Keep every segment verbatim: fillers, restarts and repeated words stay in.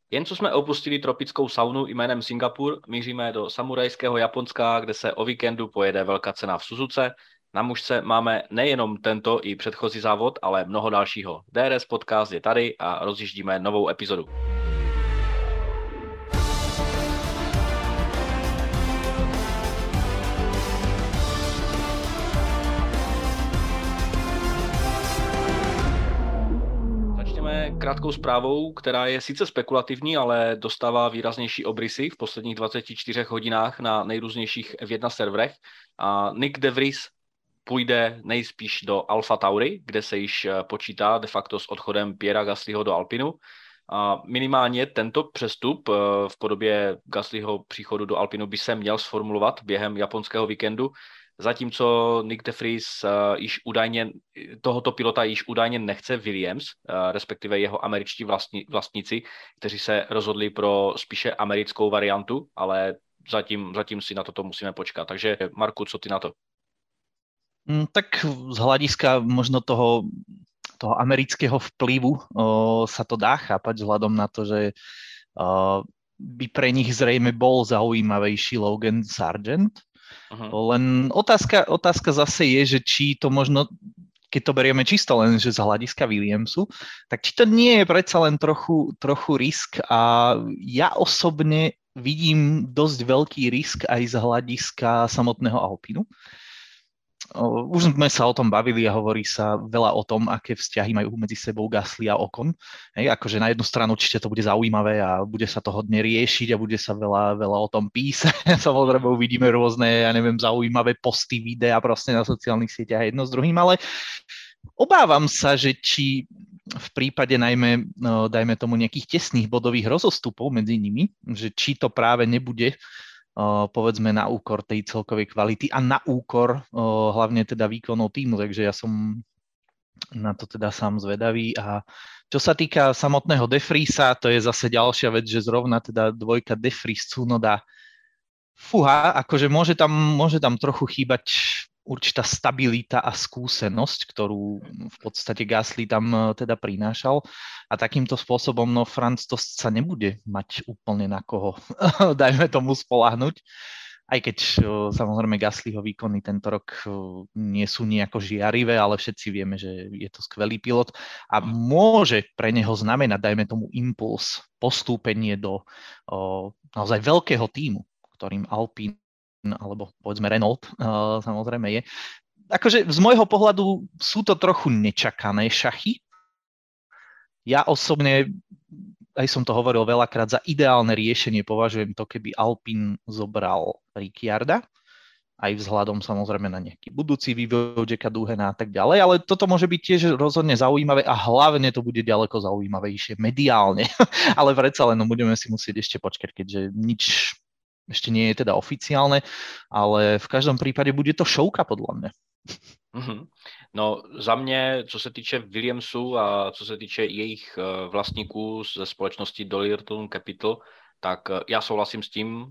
Jen co jsme opustili tropickou saunu jménem Singapur, míříme do samurajského Japonska, kde se o víkendu pojede velká cena v Suzuce. Na mužce máme nejenom tento i předchozí závod, ale mnoho dalšího. D R S Podcast je tady a rozjíždíme novou epizodu. Krátkou zprávou, která je sice spekulativní, ale dostává výraznější obrysy v posledních dvaceti čtyřech hodinách na nejrůznějších F jedna serverech. A Nick De Vries půjde nejspíš do Alfa Tauri, kde se již počítá de facto s odchodem Pierra Gaslyho do Alpinu. A minimálně tento přestup v podobě Gaslyho příchodu do Alpinu by se měl sformulovat během japonského víkendu, zatímco Nick De Vries uh, již údajně, tohoto pilota již údajně nechce Williams, uh, respektive jeho američtí vlastní, vlastníci, kteří se rozhodli pro spíše americkou variantu, ale zatím, zatím si na toto musíme počkat. Takže Marku, co ty na to? Mm, tak z hľadiska možno toho, toho amerického vplyvu o, sa to dá chápať vzhľadom na to, že o, by pre nich zrejme bol zaujímavejší Logan Sargent. Uh-huh. Len otázka, otázka zase je, že či to možno, keď to berieme čisto len že z hľadiska Williamsu, tak či to nie je predsa len trochu, trochu risk a ja osobne vidím dosť veľký risk aj z hľadiska samotného Alpinu. Už sme sa o tom bavili a hovorí sa veľa o tom, aké vzťahy majú medzi sebou Gasly a Ocon. Hej, akože na jednu stranu určite to bude zaujímavé a bude sa to hodne riešiť a bude sa veľa, veľa o tom písať. Samozrejme uvidíme rôzne, ja neviem, zaujímavé posty, videa proste na sociálnych sieťach jedno s druhým, ale obávam sa, že či v prípade najmä, no, dajme tomu nejakých tesných bodových rozostupov medzi nimi, že či to práve nebude povedzme na úkor tej celkovej kvality a na úkor hlavne teda výkonov týmu, takže ja som na to teda sám zvedavý. A čo sa týka samotného De Vriesa, to je zase ďalšia vec, že zrovna teda dvojka De Vries Tsunoda, fúha, akože môže tam, môže tam trochu chýbať určitá stabilita a skúsenosť, ktorú v podstate Gasly tam teda prinášal. A takýmto spôsobom, no Franz to sa nebude mať úplne na koho, dajme tomu, spoľahnúť. Aj keď samozrejme Gaslyho výkony tento rok nie sú nejako žiarivé, ale všetci vieme, že je to skvelý pilot a môže pre neho znamenať, dajme tomu, impuls, postúpenie do o, naozaj veľkého tímu, ktorým Alpine alebo povedzme Renault, uh, samozrejme je. Akože z môjho pohľadu sú to trochu nečakané šachy. Ja osobne, aj som to hovoril veľakrát, za ideálne riešenie považujem to, keby Alpine zobral Ricciarda, aj vzhľadom samozrejme na nejaký budúci vývoj Jacka Duhena a tak ďalej, ale toto môže byť tiež rozhodne zaujímavé a hlavne to bude ďaleko zaujímavejšie mediálne. Ale predsa len no, budeme si musieť ešte počkať, keďže nič ešte nie je teda oficiálne, ale v každom prípade bude to šouka podľa mňa. Mm-hmm. No za mě, co se týče Williamsu a co se týče jejich vlastníků ze společnosti Dolittle Capital, tak já souhlasím s tím,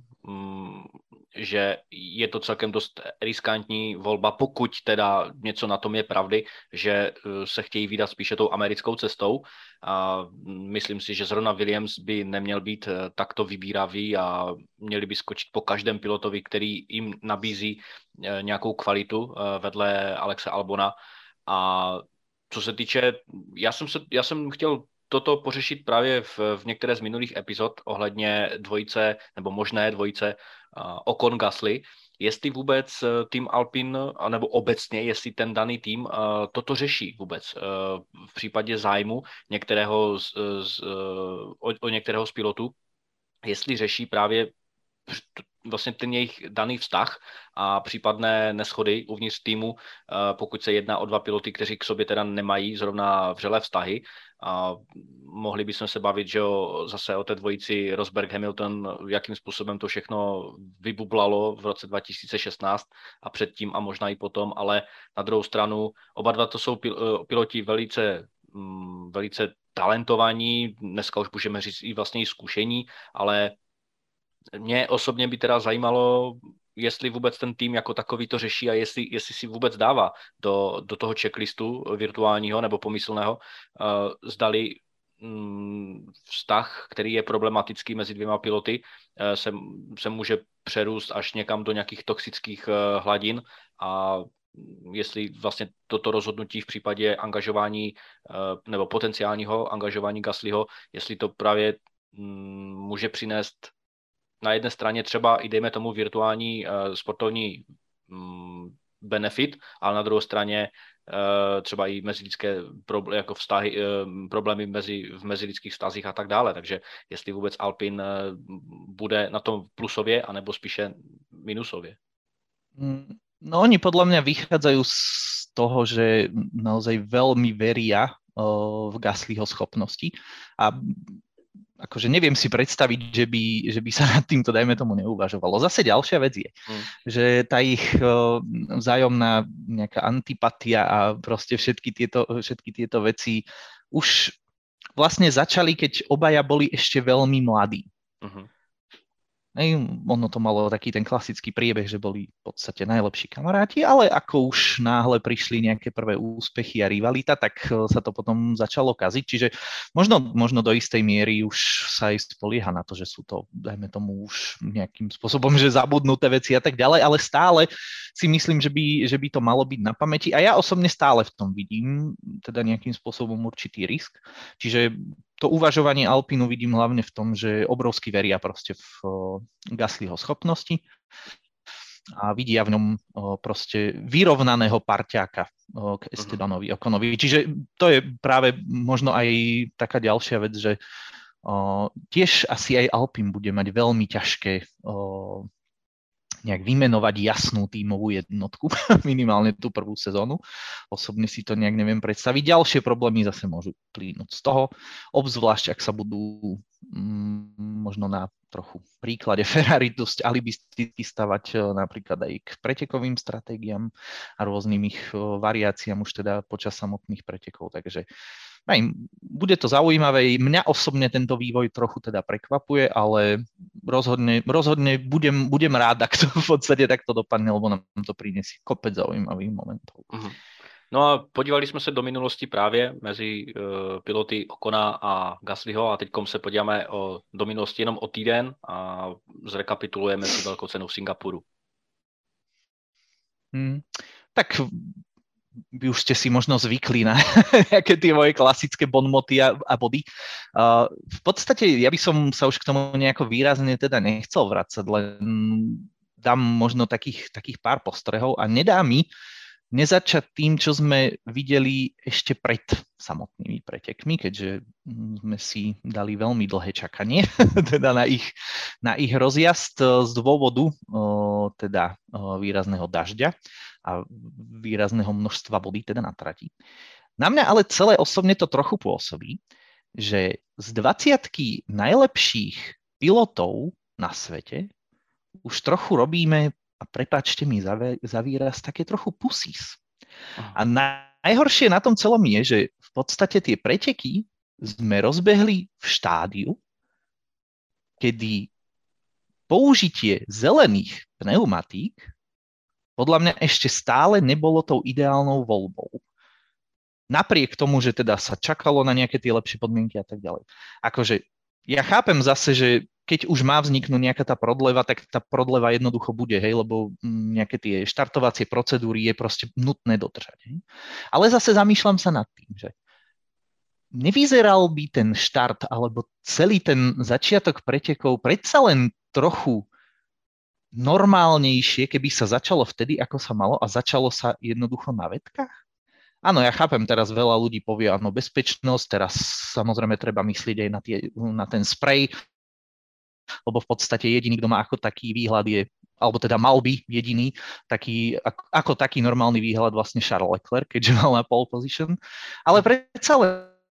že je to celkem dost riskantní volba, pokud teda něco na tom je pravdy, že se chtějí vydat spíše tou americkou cestou. A myslím si, že zrovna Williams by neměl být takto vybíravý a měli by skočit po každém pilotovi, který jim nabízí nějakou kvalitu vedle Alexe Albona. A co se týče, já jsem, se, já jsem chtěl toto pořešit právě v, v některé z minulých epizod ohledně dvojice, nebo možné dvojice uh, Ocon Gasly, jestli vůbec tým Alpine, nebo obecně, jestli ten daný tým uh, toto řeší vůbec uh, v případě zájmu některého z, z, uh, o, o některého z pilotů, jestli řeší právě vlastně ten jejich daný vztah a případné neschody uvnitř týmu, pokud se jedná o dva piloty, kteří k sobě teda nemají zrovna vřelé vztahy. A mohli bychom se bavit, že jo, zase o té dvojici Rosberg-Hamilton, jakým způsobem to všechno vybublalo v roce dva tisíce šestnáct a předtím a možná i potom, ale na druhou stranu oba dva to jsou piloti velice, velice talentovaní, dneska už můžeme říct i vlastně i zkušení, ale mě osobně by teda zajímalo, jestli vůbec ten tým jako takový to řeší a jestli, jestli si vůbec dává do, do toho checklistu virtuálního nebo pomyslného, uh, zdali vztah, který je problematický mezi dvěma piloty, se, se může přerůst až někam do nějakých toxických hladin a jestli vlastně toto rozhodnutí v případě angažování nebo potenciálního angažování Gaslyho, jestli to právě může přinést na jedné straně třeba i dejme tomu virtuální sportovní benefit, ale na druhé straně třeba i mezilidské problémy, jako vztahy, problémy mezi, v mezilidských vztazích a tak dále. Takže jestli vůbec Alpine bude na tom plusově, anebo spíše minusově. No oni podľa mňa vychádzajú z toho, že naozaj veľmi veria v Gaslyho schopnosti a akože neviem si predstaviť, že by, že by sa nad týmto, dajme tomu, neuvažovalo. Zase ďalšia vec je, mm. že tá ich vzájomná nejaká antipatia a proste všetky tieto, všetky tieto veci už vlastne začali, keď obaja boli ešte veľmi mladí. Mm-hmm. Ej, ono to malo taký ten klasický priebeh, že boli v podstate najlepší kamaráti, ale ako už náhle prišli nejaké prvé úspechy a rivalita, tak sa to potom začalo kaziť. Čiže možno, možno do istej miery už sa aj spolieha na to, že sú to, dajme tomu, už nejakým spôsobom, že zabudnuté veci a tak ďalej, ale stále si myslím, že by, že by to malo byť na pamäti. A ja osobne stále v tom vidím teda nejakým spôsobom určitý risk. Čiže to uvažovanie Alpinu vidím hlavne v tom, že obrovsky veria proste v Gaslyho schopnosti a vidia v ňom proste vyrovnaného parťáka k Estebanovi Oconovi. Čiže to je práve možno aj taká ďalšia vec, že tiež asi aj Alpine bude mať veľmi ťažké nejak vymenovať jasnú tímovú jednotku, minimálne tú prvú sezónu. Osobne si to nejak neviem predstaviť. Ďalšie problémy zase môžu plynúť z toho, obzvlášť ak sa budú mm, možno na trochu príklade Ferrari dosť alibisticky stavať napríklad aj k pretekovým stratégiám a rôznym ich variáciám už teda počas samotných pretekov. Takže aj, bude to zaujímavé. Mňa osobne tento vývoj trochu teda prekvapuje, ale rozhodne, rozhodne budem, budem rád, ak to v podstate takto dopadne, lebo nám to prinesie kopec zaujímavých momentov. Uh-huh. No a podívali jsme se do minulosti právě mezi uh, piloty Ocona a Gaslyho a teďkom se podíváme o, do minulosti jenom o týden a zrekapitulujeme si velkou cenu v Singapuru. Hmm, tak vy už ste si možno zvykli na nejaké tie moje klasické bonmoty a, a body. Uh, v podstate ja by som sa už k tomu nejako výrazne teda nechcel vracať, len dám možno takých, takých pár postrehov a nedá mi nezačať tým, čo sme videli ešte pred samotnými pretekmi, keďže sme si dali veľmi dlhé čakanie teda na ich, na ich rozjazd z dôvodu uh, teda uh, výrazného dažďa a výrazného množstva vody teda na trati. Na mňa ale celé osobne to trochu pôsobí, že z dvadsiatky najlepších pilotov na svete už trochu robíme, a prepáčte mi za, za výraz, také trochu pusís. A najhoršie na tom celom je, že v podstate tie preteky sme rozbehli v štádiu, kedy použitie zelených pneumatík podľa mňa ešte stále nebolo tou ideálnou voľbou. Napriek tomu, že teda sa čakalo na nejaké tie lepšie podmienky a tak ďalej. Akože ja chápem zase, že keď už má vzniknúť nejaká tá prodleva, tak tá prodleva jednoducho bude, hej, lebo nejaké tie štartovacie procedúry je proste nutné dodržať. Hej. Ale zase zamýšľam sa nad tým, že nevyzeral by ten štart alebo celý ten začiatok pretekov predsa len trochu normálnejšie, keby sa začalo vtedy, ako sa malo a začalo sa jednoducho na vetkách? Áno, ja chápem, teraz veľa ľudí povie, áno, bezpečnosť, teraz samozrejme treba myslieť aj na, tie, na ten sprej, lebo v podstate jediný, kto má ako taký výhľad je, alebo teda mal by jediný, taký, ako, ako taký normálny výhľad vlastne Charles Leclerc, keďže mal na pole position, ale predsa len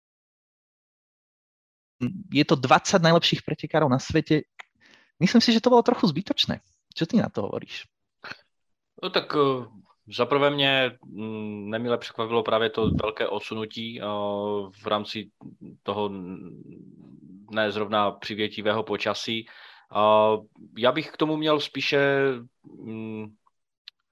je to dvadsať najlepších pretekárov na svete. Myslím si, že to bolo trochu zbytočné. Čo ty na to hovoríš? No tak zaprvé mě nemile překvapilo právě to velké odsunutí v rámci toho ne zrovna přivětivého počasí. Já bych k tomu měl spíše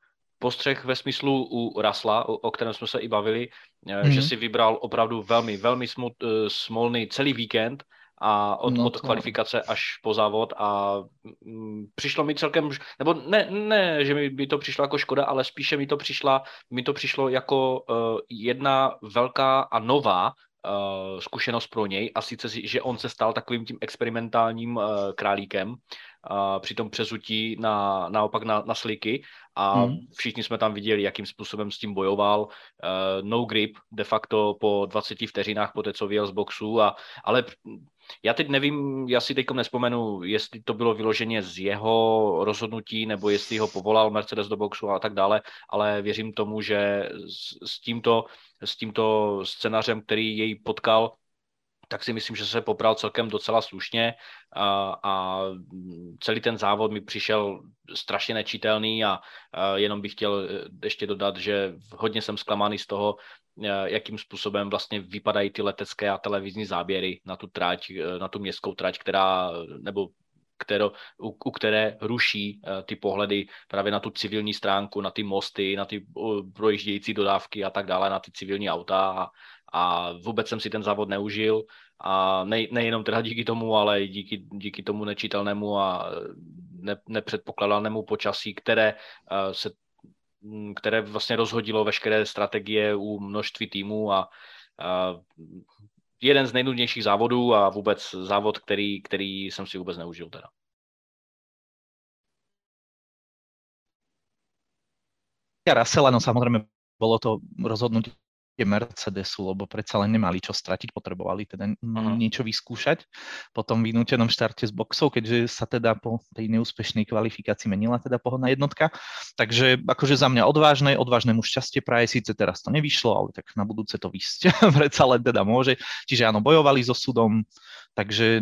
postřeh ve smyslu u Russella, o, o kterém jsme se i bavili, mm. že Mhm. si vybral opravdu velmi, velmi smut, smolný celý víkend a od, No od to... kvalifikace až po závod a mm, přišlo mi celkem, nebo ne, ne, že mi by to přišlo jako škoda, ale spíše mi to, přišla, mi to přišlo jako uh, jedna velká a nová uh, zkušenost pro něj a sice, že on se stal takovým tím experimentálním uh, králíkem uh, při tom přezutí na, naopak na, na sliky a Mm. všichni jsme tam viděli, jakým způsobem s tím bojoval. Uh, no grip de facto po dvaceti vteřinách po té, co vyjel z boxu, a, ale já teď nevím, já si teďkom nespomenu, jestli to bylo vyloženě z jeho rozhodnutí, nebo jestli ho povolal Mercedes do boxu a tak dále, ale věřím tomu, že s, s, tímto, s tímto scénářem, který jej potkal, tak si myslím, že se popral celkem docela slušně a, a celý ten závod mi přišel strašně nečitelný a, a jenom bych chtěl ještě dodat, že hodně jsem zklamaný z toho, jakým způsobem vlastně vypadají ty letecké a televizní záběry na tu trať, na tu městskou trať, která, nebo kterou, u, u které ruší ty pohledy právě na tu civilní stránku, na ty mosty, na ty projíždějící dodávky a tak dále, na ty civilní auta a, a vůbec jsem si ten závod neužil a ne, nejenom teda díky tomu, ale i díky, díky tomu nečitelnému a ne, nepředpokladanému počasí, které se které vlastně rozhodilo veškeré strategie u množství týmů a, a jeden z nejnudnějších závodů a vůbec závod, který, který jsem si vůbec neužil teda. Russella, no samozrejme, bolo to rozhodnutie Mercedesu, lebo predsa len nemali čo stratiť, potrebovali teda uh-huh. niečo vyskúšať po tom vynútenom štarte z boxov, keďže sa teda po tej neúspešnej kvalifikácii menila teda pohodná jednotka. Takže akože za mňa odvážne, odvážnemu šťastie praje, síce teraz to nevyšlo, ale tak na budúce to vysť predsa len teda môže. Čiže áno, bojovali so súdom, takže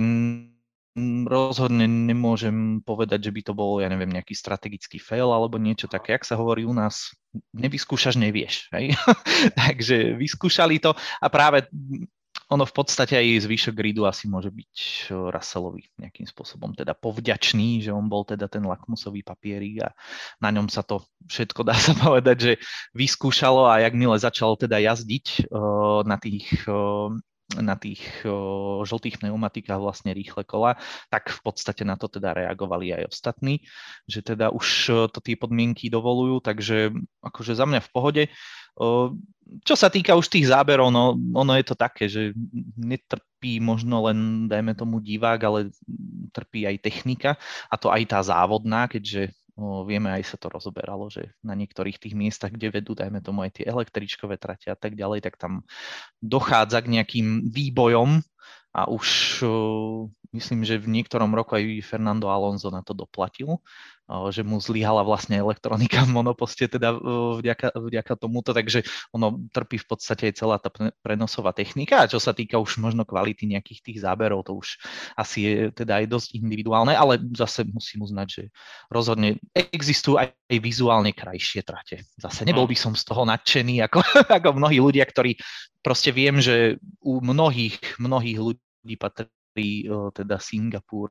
rozhodne nemôžem povedať, že by to bol, ja neviem, nejaký strategický fail alebo niečo také, jak sa hovorí u nás, nevyskúšaš, nevieš. Hej? Takže vyskúšali to a práve ono v podstate aj zvyšok gridu asi môže byť Russellovi nejakým spôsobom teda povďačný, že on bol teda ten lakmusový papierik a na ňom sa to všetko, dá sa povedať, že vyskúšalo a jakmile začalo teda jazdiť uh, na tých uh, na tých o, žltých pneumatikách vlastne rýchle kola, tak v podstate na to teda reagovali aj ostatní, že teda už to tie podmienky dovolujú, takže akože za mňa v pohode. O, čo sa týka už tých záberov, no ono je to také, že netrpí možno len, dajme tomu, divák, ale trpí aj technika a to aj tá závodná, keďže O, vieme, aj sa to rozoberalo, že na niektorých tých miestach, kde vedú, dajme tomu aj tie električkové trate a tak ďalej, tak tam dochádza k nejakým výbojom a už o, myslím, že v niektorom roku aj Fernando Alonso na to doplatil, o, že mu zlyhala vlastne elektronika v monoposte teda o, vďaka, vďaka tomuto, takže ono trpí v podstate aj celá tá prenosová technika a čo sa týka už možno kvality nejakých tých záberov, to už asi je teda aj dosť individuálne, ale zase musím uznať, že rozhodne existujú aj vizuálne krajšie trate. Zase nebol by som z toho nadšený ako, ako mnohí ľudia, ktorí proste viem, že u mnohých, mnohých ľudí patrí teda Singapur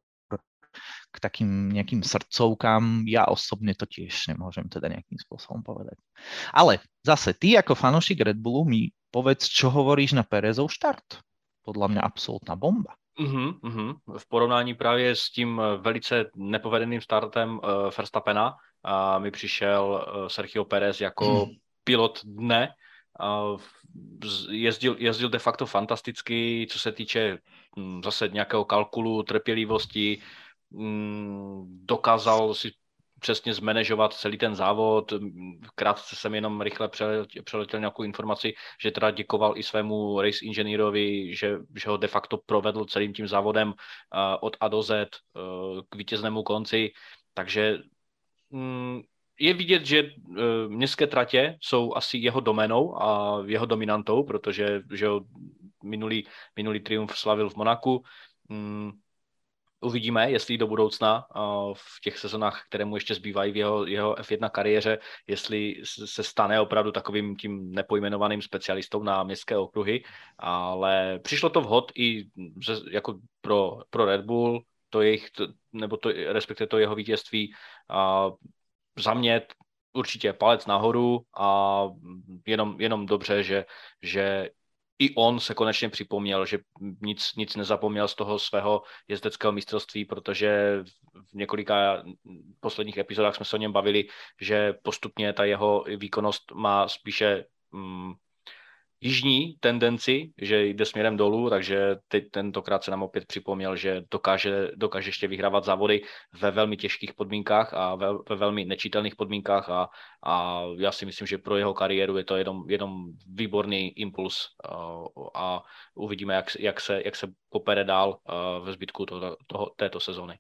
k takým nejakým srdcovkám. Ja osobne to tiež nemôžem teda nejakým spôsobom povedať. Ale zase ty ako fanúšik Red Bullu mi povedz, čo hovoríš na Perezov štart. Podľa mňa absolútna bomba. Uhum, uhum. V porovnání právě s tím velice nepovedeným startem uh, Verstappena uh, mi přišel uh, Sergio Pérez jako mm. pilot dne. Uh, jezdil, jezdil de facto fantasticky, co se týče um, zase nějakého kalkulu, trpělivosti, um, dokázal si přesně zmanéžovat celý ten závod. Krátce jsem jenom rychle přeletěl, přeletěl nějakou informaci, že teda děkoval i svému race inženýrovi, že, že ho de facto provedl celým tím závodem uh, od A do Z uh, k vítěznému konci. Takže um, je vidět, že uh, městské tratě jsou asi jeho doménou a jeho dominantou, protože že ho minulý, minulý triumf slavil v Monaku. Um, Uvidíme, jestli do budoucna v těch sezonách, které mu ještě zbývají v jeho, jeho F jedna kariéře, jestli se stane opravdu takovým tím nepojmenovaným specialistou na městské okruhy, ale přišlo to vhod i jako pro, pro Red Bull, to jejich, nebo to, respektive to jeho vítězství. A za mě určitě palec nahoru a jenom, jenom dobře, že, že i on se konečně připomněl, že nic, nic nezapomněl z toho svého jezdeckého mistrovství, protože v několika posledních epizodách jsme se o něm bavili, že postupně ta jeho výkonnost má spíše mm, jižní tendenci, že jde směrem dolů, takže teď tentokrát se nám opět připomněl, že dokáže, dokáže ještě vyhrávat závody ve velmi těžkých podmínkách a ve, ve velmi nečitelných podmínkách a, a já si myslím, že pro jeho kariéru je to jenom, jenom výborný impuls a, a uvidíme, jak, jak, se, jak se popere dál ve zbytku toho, toho, této sezóny.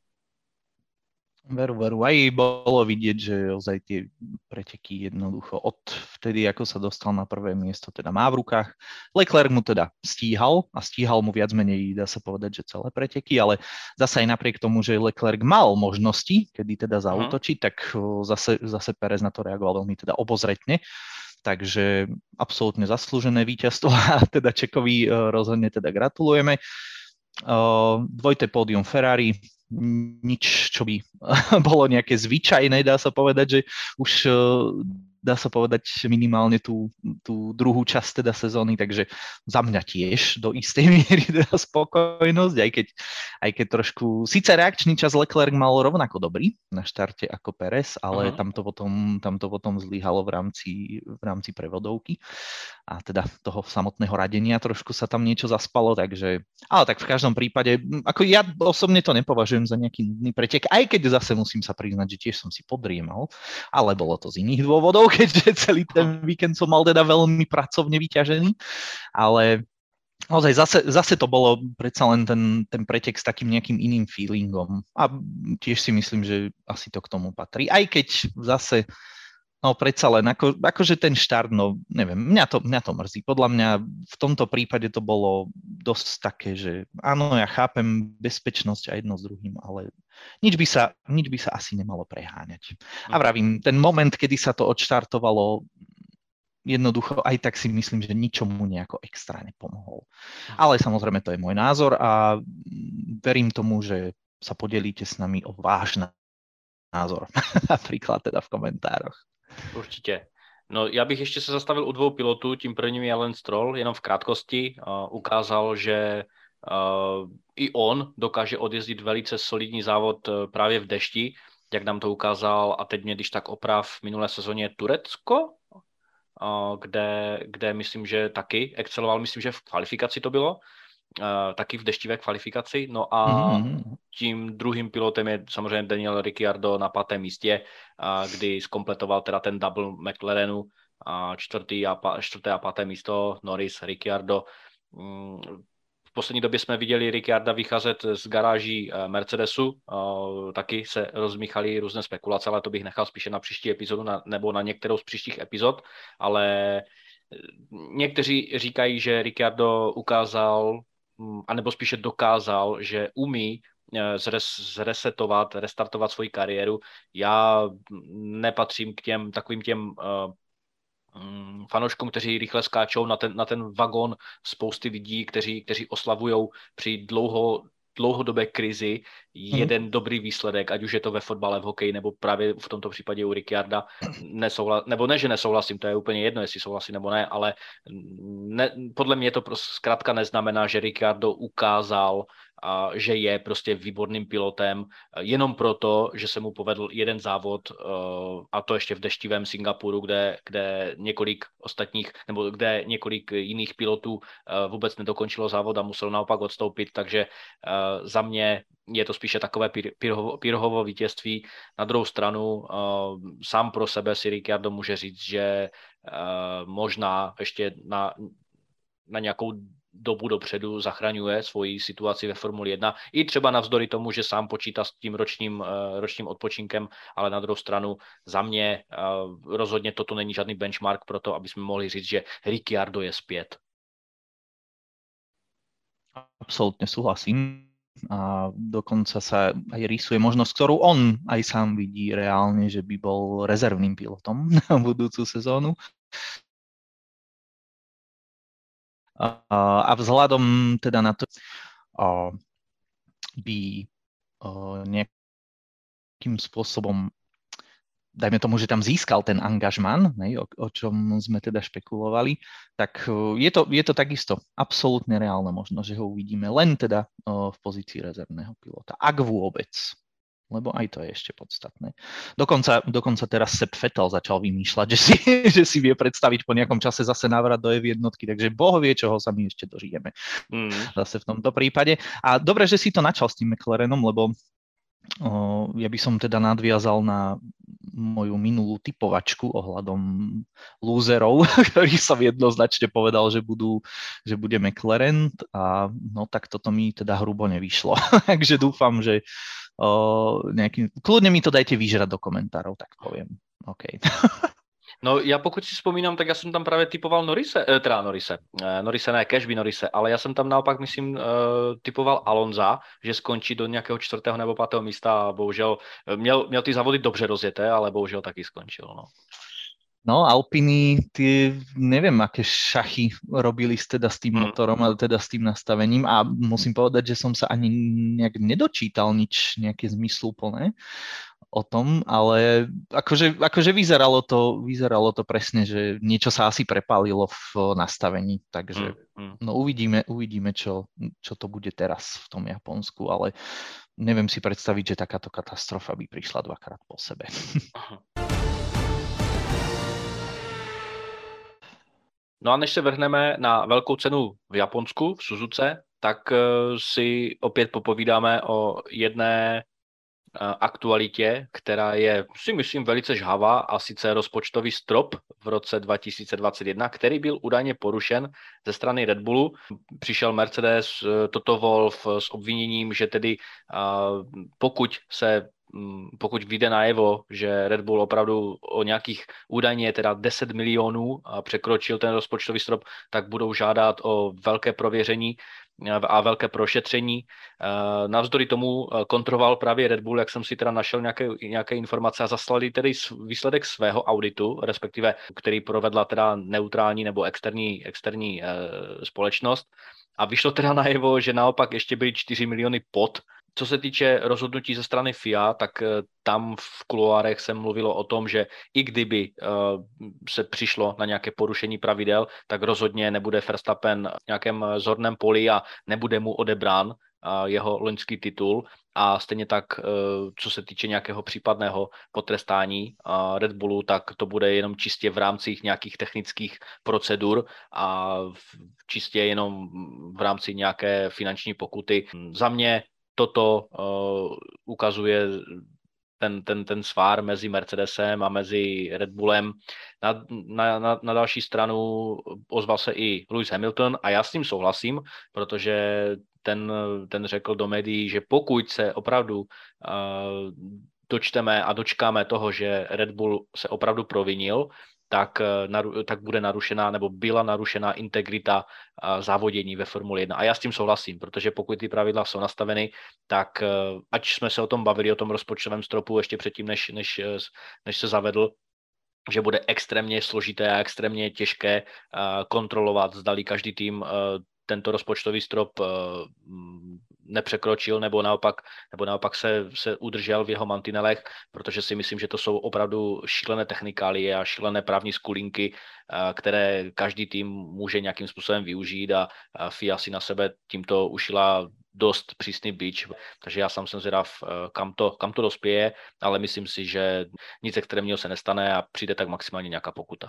Veru, veru. Aj bolo vidieť, že ozaj tie preteky jednoducho od vtedy, ako sa dostal na prvé miesto, teda má v rukách. Leclerc mu teda stíhal a stíhal mu viac menej, dá sa povedať, že celé preteky, ale zase aj napriek tomu, že Leclerc mal možnosti, kedy teda zaútočiť, uh-huh. tak zase, zase Perez na to reagoval veľmi teda obozretne. Takže absolútne zaslúžené víťazstvo a teda Čekovi rozhodne teda gratulujeme. Dvojité pódium Ferrari, nič, čo by bolo nejaké zvyčajné, dá sa povedať, že už dá sa povedať minimálne tú, tú druhú časť teda sezóny, takže za mňa tiež do istej miery teda spokojnosť, aj keď, aj keď trošku, síce reakčný čas Leclerc mal rovnako dobrý na štarte ako Perez, ale uh-huh. tam, to potom, tam to potom zlyhalo v rámci, v rámci prevodovky a teda toho samotného radenia trošku sa tam niečo zaspalo, takže, ale tak v každom prípade, ako ja osobne to nepovažujem za nejaký nudný pretek, aj keď zase musím sa priznať, že tiež som si podriemal, ale bolo to z iných dôvodov, keďže celý ten víkend som mal teda veľmi pracovne vyťažený, ale naozaj zase, zase to bolo predsa len ten, ten pretek s takým nejakým iným feelingom a tiež si myslím, že asi to k tomu patrí, aj keď zase no predsa len, ako, akože ten štart, no neviem, mňa to, mňa to mrzí. Podľa mňa v tomto prípade to bolo dosť také, že áno, ja chápem bezpečnosť a jedno s druhým, ale nič by sa, nič by sa asi nemalo preháňať. A vravím, ten moment, kedy sa to odštartovalo, jednoducho aj tak si myslím, že ničomu nejako extra nepomohol. Ale samozrejme to je môj názor a verím tomu, že sa podelíte s nami o váš názor. Napríklad teda v komentároch. Určitě. No, já bych ještě se zastavil u dvou pilotů, tím prvním je Lance Stroll, jenom v krátkosti. Uh, ukázal, že uh, i on dokáže odjezdit velice solidní závod uh, právě v dešti, jak nám to ukázal, a teď mě když tak oprav v minulé sezóně Turecko, uh, kde, kde myslím, že taky exceloval, myslím, že v kvalifikaci to bylo, Uh, taky v deštivé kvalifikaci. No a mm-hmm. tím druhým pilotem je samozřejmě Daniel Ricciardo na pátém místě, uh, kdy zkompletoval teda ten double McLarenu, uh, čtvrtý a pa, čtvrté a páté místo Norris, Ricciardo. Um, v poslední době jsme viděli Ricciarda vycházet z garáží uh, Mercedesu, uh, taky se rozmíchaly různé spekulace, ale to bych nechal spíše na příští epizodu na, nebo na některou z příštích epizod, ale někteří říkají, že Ricciardo ukázal anebo spíše dokázal, že umí zres, zresetovat, restartovat svoji kariéru. Já nepatřím k těm takovým těm uh, fanouškům, kteří rychle skáčou na ten, na ten vagón spousty lidí, kteří, kteří oslavujou při dlouho, dlouhodobé krizi jeden hmm. dobrý výsledek, ať už je to ve fotbale, v hokeji, nebo právě v tomto případě u Ricciarda. Nesouhla, nebo ne, že nesouhlasím, to je úplně jedno, jestli souhlasím nebo ne, ale ne, podle mě to prostě zkrátka neznamená, že Ricciardo ukázal, a že je prostě výborným pilotem jenom proto, že se mu povedl jeden závod, a to ještě v deštivém Singapuru, kde, kde několik ostatních, nebo kde několik jiných pilotů vůbec nedokončilo závod a musel naopak odstoupit, takže za mě je to spíše takové Pirhovo, Pirhovo vítězství. Na druhou stranu sám pro sebe si Ricciardo může říct, že možná ještě na, na nějakou dobu dopředu zachraňuje svoji situaci ve Formuli jedna. I třeba navzdory tomu, že sám počítá s tím ročním, ročním odpočinkem, ale na druhou stranu za mě rozhodně toto není žádný benchmark pro to, aby jsme mohli říct, že Ricciardo je zpět. Absolutne súhlasím. A dokonca sa aj rýsuje možnosť, ktorú on aj sám vidí reálne, že by bol rezervným pilotom na budúcu sezónu. A vzhľadom teda na to by nejakým spôsobom dajme tomu, že tam získal ten angažman, o, o čom sme teda špekulovali, tak je to, je to takisto absolútne reálne možno, že ho uvidíme len teda v pozícii rezervného pilota, ak vôbec. Lebo aj to je ešte podstatné. Dokonca, dokonca teraz Sepp Vettel začal vymýšľať, že si, že si vie predstaviť po nejakom čase zase návrat do ef jednotky, takže Boh vie, čoho sa my ešte dožijeme. Mm. Zase v tomto prípade. A dobre, že si to načal s tým McLarenom, lebo o, ja by som teda nadviazal na moju minulú typovačku ohľadom lúzerov, ktorý som jednoznačne povedal, že, budú, že bude McLaren a no tak toto mi teda hrubo nevyšlo. Takže dúfam, že O, nejaký, kľudne mi to dajte vyžrať do komentárov, tak poviem. OK. No já pokud si vzpomínám, tak já jsem tam právě typoval Norrise, eh, teda Norrise, eh, Norrise ne, Cashby Norrise, ale já jsem tam naopak, myslím, eh, typoval Alonza, že skončí do nějakého čtvrtého nebo pátého místa a bohužel měl, měl ty závody dobře rozjeté, ale bohužel taky skončil, no. No, Alpiny, tie, neviem, aké šachy robili teda s tým motorom, ale teda s tým nastavením a musím povedať, že som sa ani nejak nedočítal nič nejaké zmysluplné o tom, ale akože, akože vyzeralo to, vyzeralo to presne, že niečo sa asi prepálilo v nastavení, takže no uvidíme, uvidíme čo, čo to bude teraz v tom Japonsku, ale neviem si predstaviť, že takáto katastrofa by prišla dvakrát po sebe. No a než se vrhneme na velkou cenu v Japonsku, v Suzuce, tak si opět popovídáme o jedné aktualitě, která je, si myslím, velice žhavá, a sice rozpočtový strop v roce dva tisíce dvacet jedna, který byl údajně porušen ze strany Red Bullu. Přišel Mercedes, Toto Wolff s obviněním, že tedy pokud se pokud vyjde najevo, že Red Bull opravdu o nějakých údajně teda deset milionů překročil ten rozpočtový strop, tak budou žádat o velké prověření a velké prošetření. Navzdory tomu kontroloval právě Red Bull, jak jsem si teda našel nějaké, nějaké informace, a zaslali tedy výsledek svého auditu, respektive který provedla teda neutrální nebo externí, externí společnost. A vyšlo teda najevo, že naopak ještě byly čtyři miliony pod. Co se týče rozhodnutí ze strany F I A, tak tam v kuloárech se mluvilo o tom, že i kdyby se přišlo na nějaké porušení pravidel, tak rozhodně nebude Verstappen v nějakém zorném poli a nebude mu odebrán jeho loňský titul. A stejně tak, co se týče nějakého případného potrestání Red Bullu, tak to bude jenom čistě v rámci nějakých technických procedur a čistě jenom v rámci nějaké finanční pokuty. Za mě toto uh, ukazuje ten, ten, ten svár mezi Mercedesem a mezi Red Bullem. Na, na, na, na další stranu ozval se i Lewis Hamilton a já s tím souhlasím, protože ten, ten řekl do médií, že pokud se opravdu uh, dočteme a dočkáme toho, že Red Bull se opravdu provinil, tak, tak bude narušená nebo byla narušená integrita závodění ve Formule jedna. A já s tím souhlasím, protože pokud ty pravidla jsou nastaveny, tak ať jsme se o tom bavili, o tom rozpočtovém stropu ještě předtím, než, než, než se zavedl, že bude extrémně složité a extrémně těžké kontrolovat, zdali každý tým tento rozpočtový strop nepřekročil nebo naopak, nebo naopak se, se udržel v jeho mantinelech, protože si myslím, že to jsou opravdu šílené technikálie a šílené právní skulinky, které každý tým může nějakým způsobem využít, a F I A si na sebe tímto ušila dost přísný bič, takže já sám jsem zvědav, kam to, kam to dospěje, ale myslím si, že nic extrémního se nestane a přijde tak maximálně nějaká pokuta.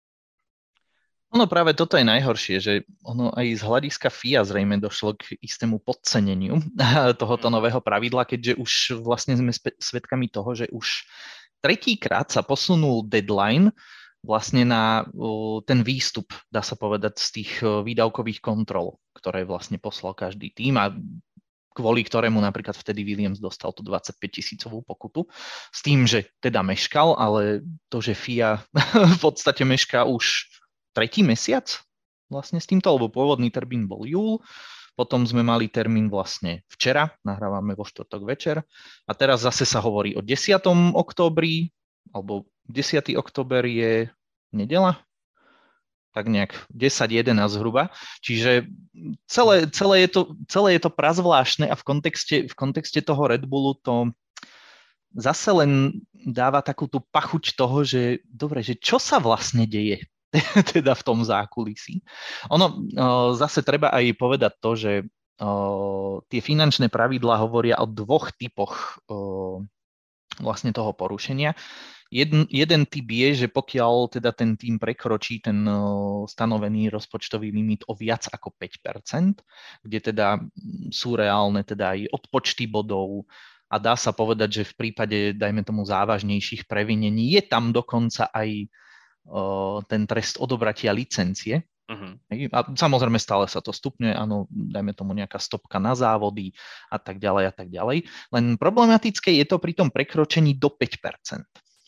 Ono práve toto je najhoršie, že ono aj z hľadiska F I A zrejme došlo k istému podceneniu tohoto nového pravidla, keďže už vlastne sme svedkami toho, že už tretíkrát sa posunul deadline vlastne na ten výstup, dá sa povedať, z tých výdavkových kontrol, ktoré vlastne poslal každý tým, a kvôli ktorému napríklad vtedy Williams dostal tú dvadsaťpäť tisícovú pokutu, s tým, že teda meškal, ale to, že F I A v podstate mešká už tretí mesiac vlastne s týmto, lebo pôvodný termín bol júl, potom sme mali termín vlastne včera, nahrávame vo štvrtok večer, a teraz zase sa hovorí o desiatom októbri, alebo desiateho október je nedeľa, tak nejak desať jedenásť zhruba, čiže celé, celé, je to, celé je to prazvláštne a v kontexte, v kontexte toho Red Bullu to zase len dáva takú tú pachuť toho, že dobre, že čo sa vlastne deje teda v tom zákulisí. Ono zase treba aj povedať to, že tie finančné pravidlá hovoria o dvoch typoch vlastne toho porušenia. Jeden, jeden typ je, že pokiaľ teda ten tým prekročí ten stanovený rozpočtový limit o viac ako päť percent, kde teda sú reálne teda aj odpočty bodov a dá sa povedať, že v prípade, dajme tomu, závažnejších previnení je tam dokonca aj ten trest odobratia licencie. Uh-huh. A samozrejme stále sa to stupňuje, áno, dajme tomu nejaká stopka na závody a tak ďalej a tak ďalej. Len problematické je to pri tom prekročení do päť percent.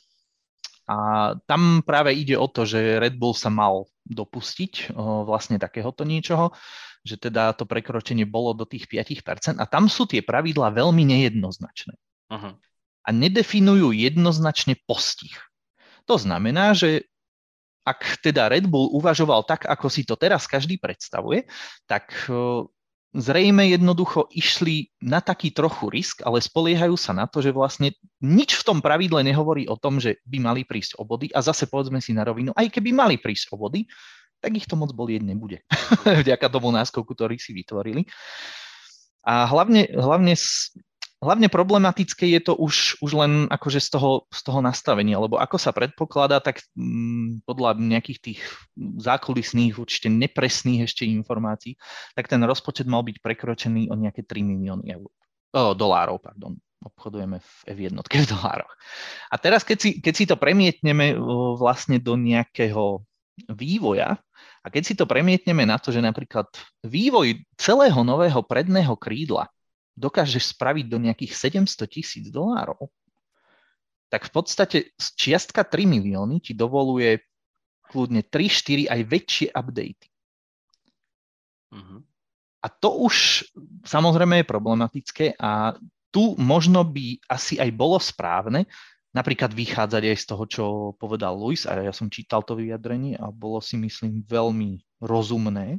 A tam práve ide o to, že Red Bull sa mal dopustiť o, vlastne takéhoto niečoho, že teda to prekročenie bolo do tých päť percent a tam sú tie pravidlá veľmi nejednoznačné. Uh-huh. A nedefinujú jednoznačne postih. To znamená, že ak teda Red Bull uvažoval tak, ako si to teraz každý predstavuje, tak zrejme jednoducho išli na taký trochu risk, ale spoliehajú sa na to, že vlastne nič v tom pravidle nehovorí o tom, že by mali prísť o body a zase povedzme si na rovinu, aj keby mali prísť o body, tak ich to moc bolieť nebude. Vďaka tomu náskoku, ktorý si vytvorili. A hlavne, hlavne Hlavne problematické je to už, už len akože z toho, z toho nastavenia, lebo ako sa predpokladá, tak m, podľa nejakých tých zákulisných, určite nepresných ešte informácií, tak ten rozpočet mal byť prekročený o nejaké tri milióny eur. O, dolárov, pardon. Obchodujeme v ef jedna v dolároch. A teraz, keď si, keď si to premietneme o, vlastne do nejakého vývoja, a keď si to premietneme na to, že napríklad vývoj celého nového predného krídla dokážeš spraviť do nejakých sedemsto tisíc dolárov, tak v podstate čiastka tri milióny ti dovoluje kľudne tri štyri aj väčšie updaty. Uh-huh. A to už samozrejme je problematické a tu možno by asi aj bolo správne napríklad vychádzať aj z toho, čo povedal Luis, a ja som čítal to vyjadrenie a bolo si myslím veľmi rozumné,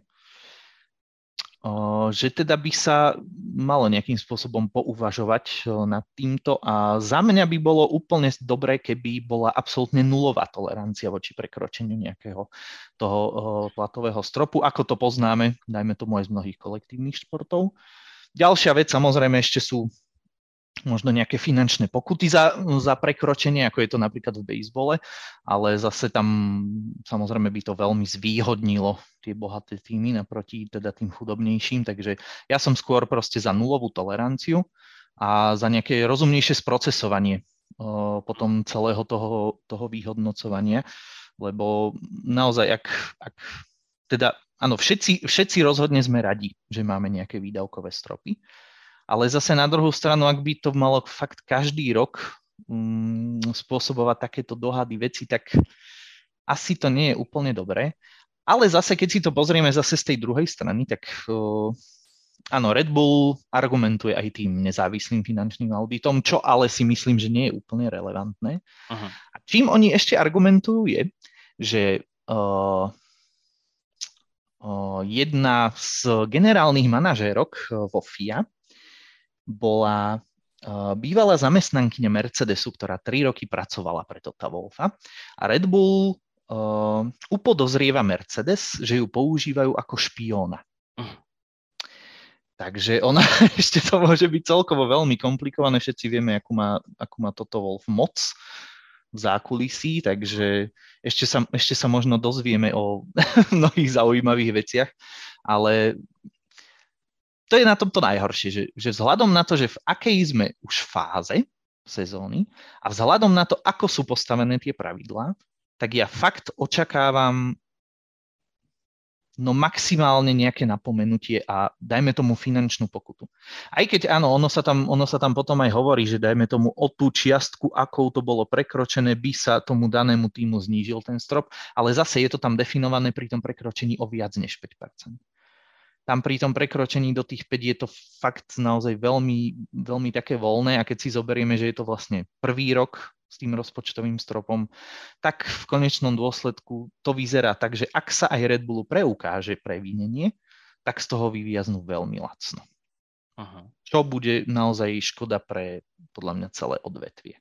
že teda by sa malo nejakým spôsobom pouvažovať nad týmto a za mňa by bolo úplne dobré, keby bola absolútne nulová tolerancia voči prekročeniu nejakého toho platového stropu, ako to poznáme, dajme tomu aj z mnohých kolektívnych športov. Ďalšia vec samozrejme ešte sú možno nejaké finančné pokuty za, za prekročenie, ako je to napríklad v bejsbole, ale zase tam samozrejme by to veľmi zvýhodnilo tie bohaté týmy naproti teda tým chudobnejším, takže ja som skôr proste za nulovú toleranciu a za nejaké rozumnejšie sprocesovanie o, potom celého toho, toho vyhodnocovania, lebo naozaj, ak, ak teda, áno, všetci, všetci rozhodne sme radi, že máme nejaké výdavkové stropy, ale zase na druhú stranu, ak by to malo fakt každý rok um, spôsobovať takéto dohady veci, tak asi to nie je úplne dobré. Ale zase, keď si to pozrieme zase z tej druhej strany, tak uh, áno, Red Bull argumentuje aj tým nezávislým finančným auditom, čo ale si myslím, že nie je úplne relevantné. Aha. A čím oni ešte argumentujú je, že uh, uh, jedna z generálnych manažérok vo ef í á bola uh, bývalá zamestnankyňa Mercedesu, ktorá tri roky pracovala pre Tota Wolffa. A Red Bull uh, upodozrieva Mercedes, že ju používajú ako špióna. Uh. Takže ona, ešte to môže byť celkovo veľmi komplikované. Všetci vieme, akú má, akú má Toto Wolff moc v zákulisí, takže ešte sa, ešte sa možno dozvieme o mnohých zaujímavých veciach, ale to je na tomto najhoršie, že, že vzhľadom na to, že v akej sme už fáze sezóny a vzhľadom na to, ako sú postavené tie pravidlá, tak ja fakt očakávam no maximálne nejaké napomenutie a dajme tomu finančnú pokutu. Aj keď áno, ono sa tam, ono sa tam potom aj hovorí, že dajme tomu o tú čiastku, akou to bolo prekročené, by sa tomu danému týmu znížil ten strop, ale zase je to tam definované pri tom prekročení o viac než päť percent. Tam pri tom prekročení do tých päť je to fakt naozaj veľmi, veľmi také voľné a keď si zoberieme, že je to vlastne prvý rok s tým rozpočtovým stropom, tak v konečnom dôsledku to vyzerá tak, že ak sa aj Red Bullu preukáže previnenie, tak z toho vyviaznú veľmi lacno. Aha. Čo bude naozaj škoda pre podľa mňa celé odvetvie.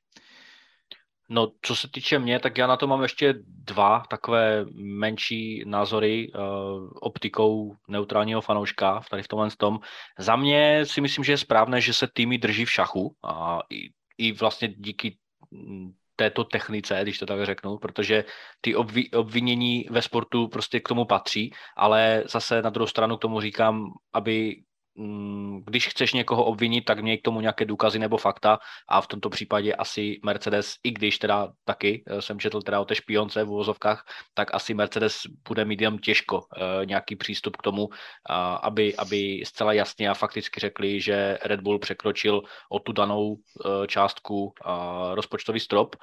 No, co se týče mě, tak já na to mám ještě dva takové menší názory uh, optikou neutrálního fanouška tady v tomhle tom. Za mě si myslím, že je správné, že se týmy drží v šachu a i, i vlastně díky této technice, když to tak řeknu, protože ty obvi, obvinění ve sportu prostě k tomu patří, ale zase na druhou stranu k tomu říkám, aby když chceš někoho obvinit, tak měj k tomu nějaké důkazy nebo fakta a v tomto případě asi Mercedes, i když teda taky jsem četl teda o té špionce v uvozovkách, tak asi Mercedes bude mít jenom těžko uh, nějaký přístup k tomu, uh, aby, aby zcela jasně a fakticky řekli, že Red Bull překročil o tu danou uh, částku uh, rozpočtový strop.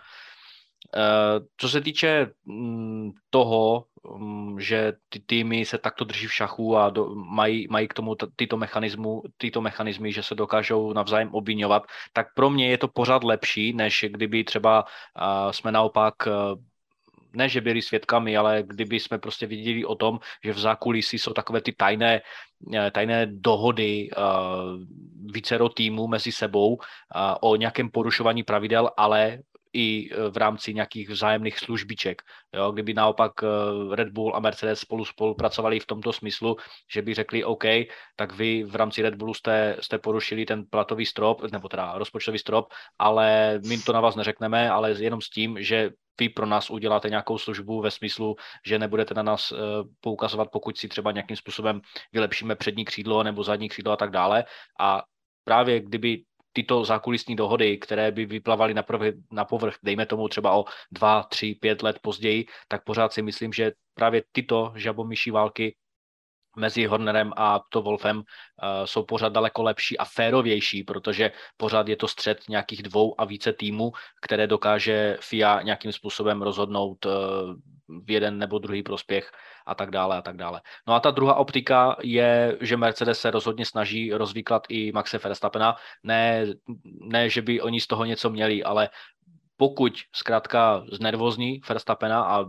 Uh, co se týče um, toho, um, že ty týmy se takto drží v šachu a do, mají, mají k tomu t- tyto, mechanismu, tyto mechanizmy, že se dokážou navzájem obviňovat, tak pro mě je to pořád lepší, než kdyby třeba uh, jsme naopak uh, ne, že byli svědkami, ale kdyby jsme prostě viděli o tom, že v zákulisí jsou takové ty tajné, tajné dohody uh, vícero týmů mezi sebou uh, o nějakém porušování pravidel, ale i v rámci nějakých vzájemných službiček. Jo? Kdyby naopak Red Bull a Mercedes spolu spolupracovali v tomto smyslu, že by řekli OK, tak vy v rámci Red Bullu jste, jste porušili ten platový strop, nebo teda rozpočtový strop, ale my to na vás neřekneme, ale jenom s tím, že vy pro nás uděláte nějakou službu ve smyslu, že nebudete na nás poukazovat, pokud si třeba nějakým způsobem vylepšíme přední křídlo nebo zadní křídlo a tak dále. A právě kdyby tyto zákulisní dohody, které by vyplavaly na, prv, na povrch, dejme tomu třeba o dva, tři, pět let později, tak pořád si myslím, že právě tyto žabomyší války mezi Hornerem a to Wolfem uh, jsou pořád daleko lepší a férovější, protože pořád je to střet nějakých dvou a více týmů, které dokáže F I A nějakým způsobem rozhodnout uh, v jeden nebo druhý prospěch a tak dále a tak dále. No a ta druhá optika je, že Mercedes se rozhodně snaží rozvýklat i Maxe Verstappena. Ne, ne, že by oni z toho něco měli, ale pokud zkrátka znervozní Verstappena a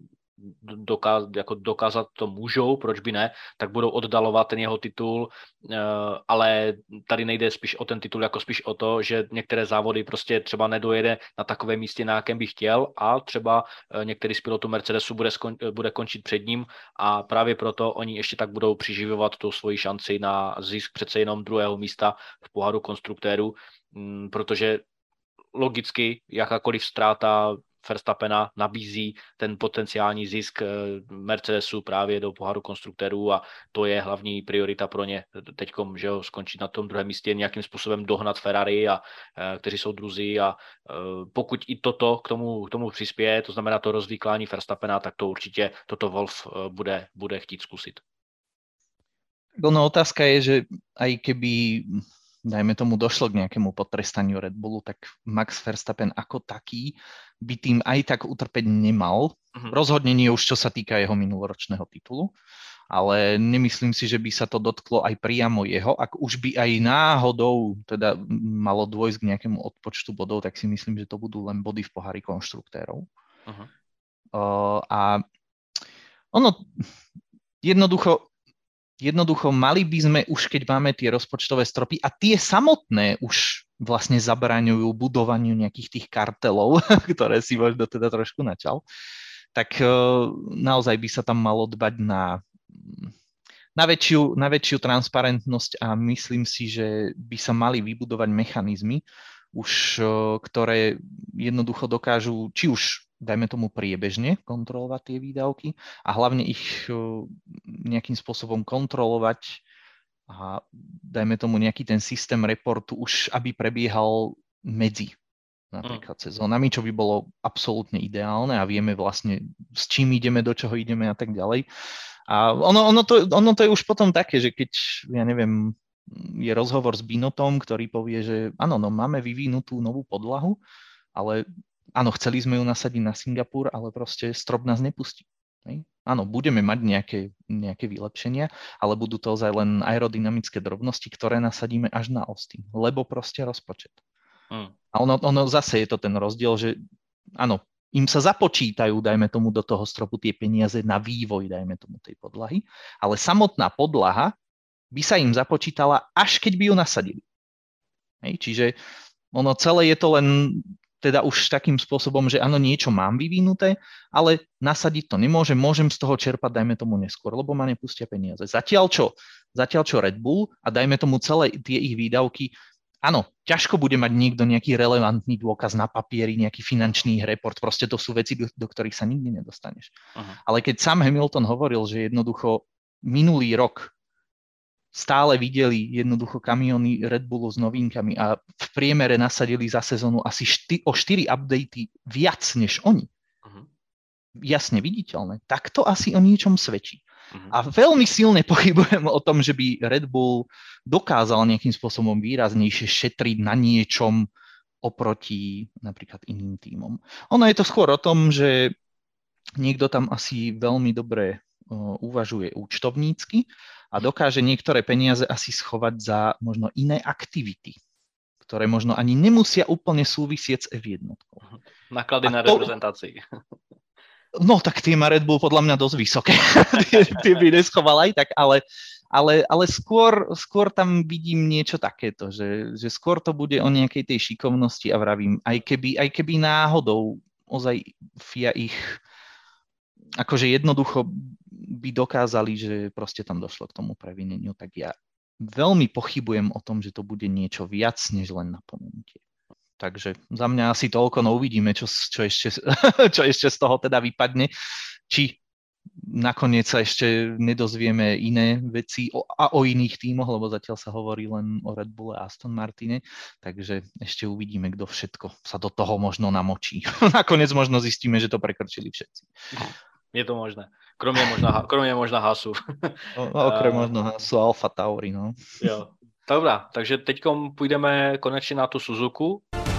Dokáz, jako dokázat to můžou, proč by ne, tak budou oddalovat ten jeho titul, ale tady nejde spíš o ten titul, jako spíš o to, že některé závody prostě třeba nedojede na takové místě, na jakém by chtěl a třeba některý z pilotů Mercedesu bude, skon, bude končit před ním a právě proto oni ještě tak budou přiživovat tu svoji šanci na zisk přece jenom druhého místa v poháru konstruktérů, protože logicky jakákoliv ztráta Verstappena nabízí ten potenciální zisk Mercedesu právě do poháru konstruktérů a to je hlavní priorita pro ně teďkom, že jo, skončit na tom druhém místě, nějakým způsobem dohnat Ferrari, a, kteří jsou druzí a pokud i toto k tomu, k tomu přispěje, to znamená to rozvýklání Verstappena, tak to určitě toto Wolf bude, bude chtít zkusit. No otázka je, že aj keby dajme tomu došlo k nejakému potrestaniu Red Bullu, tak Max Verstappen ako taký by tým aj tak utrpeť nemal. Uh-huh. Rozhodne nie už, čo sa týka jeho minuloročného titulu, ale nemyslím si, že by sa to dotklo aj priamo jeho. Ak už by aj náhodou teda malo dôjsť k nejakému odpočtu bodov, tak si myslím, že to budú len body v pohári konštruktérov. Uh-huh. Uh, a ono jednoducho Jednoducho mali by sme už, keď máme tie rozpočtové stropy a tie samotné už vlastne zabraňujú budovaniu nejakých tých kartelov, ktoré si možno teda trošku načal, tak naozaj by sa tam malo dbať na, na, väčšiu, na väčšiu transparentnosť a myslím si, že by sa mali vybudovať mechanizmy, už ktoré jednoducho dokážu, či už dajme tomu priebežne kontrolovať tie výdavky a hlavne ich nejakým spôsobom kontrolovať a dajme tomu nejaký ten systém reportu už, aby prebiehal medzi napríklad mm. sezónami, čo by bolo absolútne ideálne a vieme vlastne s čím ideme, do čoho ideme a tak ďalej. A ono, ono, to, ono to je už potom také, že keď, ja neviem, je rozhovor s Binotom, ktorý povie, že áno, no máme vyvinutú novú podlahu, ale áno, chceli sme ju nasadiť na Singapur, ale proste strop nás nepustí. Hej? Áno, budeme mať nejaké, nejaké vylepšenia, ale budú to ozaj len aerodynamické drobnosti, ktoré nasadíme až na Austin, lebo proste rozpočet. Hmm. A ono, ono zase je to ten rozdiel, že áno, im sa započítajú, dajme tomu, do toho stropu tie peniaze na vývoj, dajme tomu, tej podlahy, ale samotná podlaha by sa im započítala, až keď by ju nasadili. Hej? Čiže Ono celé je to len teda už takým spôsobom, že áno, niečo mám vyvinuté, ale nasadiť to nemôžem, môžem z toho čerpať, dajme tomu neskôr, lebo ma nepustia peniaze. Zatiaľ čo, zatiaľ čo Red Bull a dajme tomu celé tie ich výdavky, áno, ťažko bude mať niekto nejaký relevantný dôkaz na papieri, nejaký finančný report, proste to sú veci, do, do ktorých sa nikdy nedostaneš. Uh-huh. Ale keď sám Hamilton hovoril, že jednoducho minulý rok stále videli jednoducho kamióny Red Bullu s novinkami a v priemere nasadili za sezónu asi šty, o štyri updaty viac než oni. Uh-huh. Jasne viditeľné. Tak to asi o niečom svedčí. Uh-huh. A veľmi silne pochybujem o tom, že by Red Bull dokázal nejakým spôsobom výraznejšie šetriť na niečom oproti napríklad iným tímom. Ono je to skôr o tom, že niekto tam asi veľmi dobre uh, uvažuje účtovnícky a dokáže niektoré peniaze asi schovať za možno iné aktivity, ktoré možno ani nemusia úplne súvisieť s ef jedna. Náklady na to... reprezentácii. No tak tie má Red Bull podľa mňa dosť vysoké. tie, tie by neschoval aj tak, ale, ale, ale skôr, skôr tam vidím niečo takéto, že, že skôr to bude o nejakej tej šikovnosti a vravím, aj keby, aj keby náhodou ozaj ef í á ich akože jednoducho by dokázali, že proste tam došlo k tomu previneniu, tak ja veľmi pochybujem o tom, že to bude niečo viac, než len napomenutie. Takže za mňa asi toľko, no uvidíme, čo, čo, ešte, čo ešte z toho teda vypadne. Či nakoniec sa ešte nedozvieme iné veci o, a o iných tímoch, lebo zatiaľ sa hovorí len o Red Bulle a Aston Martine, takže ešte uvidíme, kto všetko sa do toho možno namočí. Nakoniec možno zistíme, že to prekrčili všetci. Je to možné. Kromě možná, kromě možná Haasu. O, okrem možno Haasu a Alfa Tauri, no. Jo. Dobrá, takže teďkom půjdeme konečně na tu Suzuku.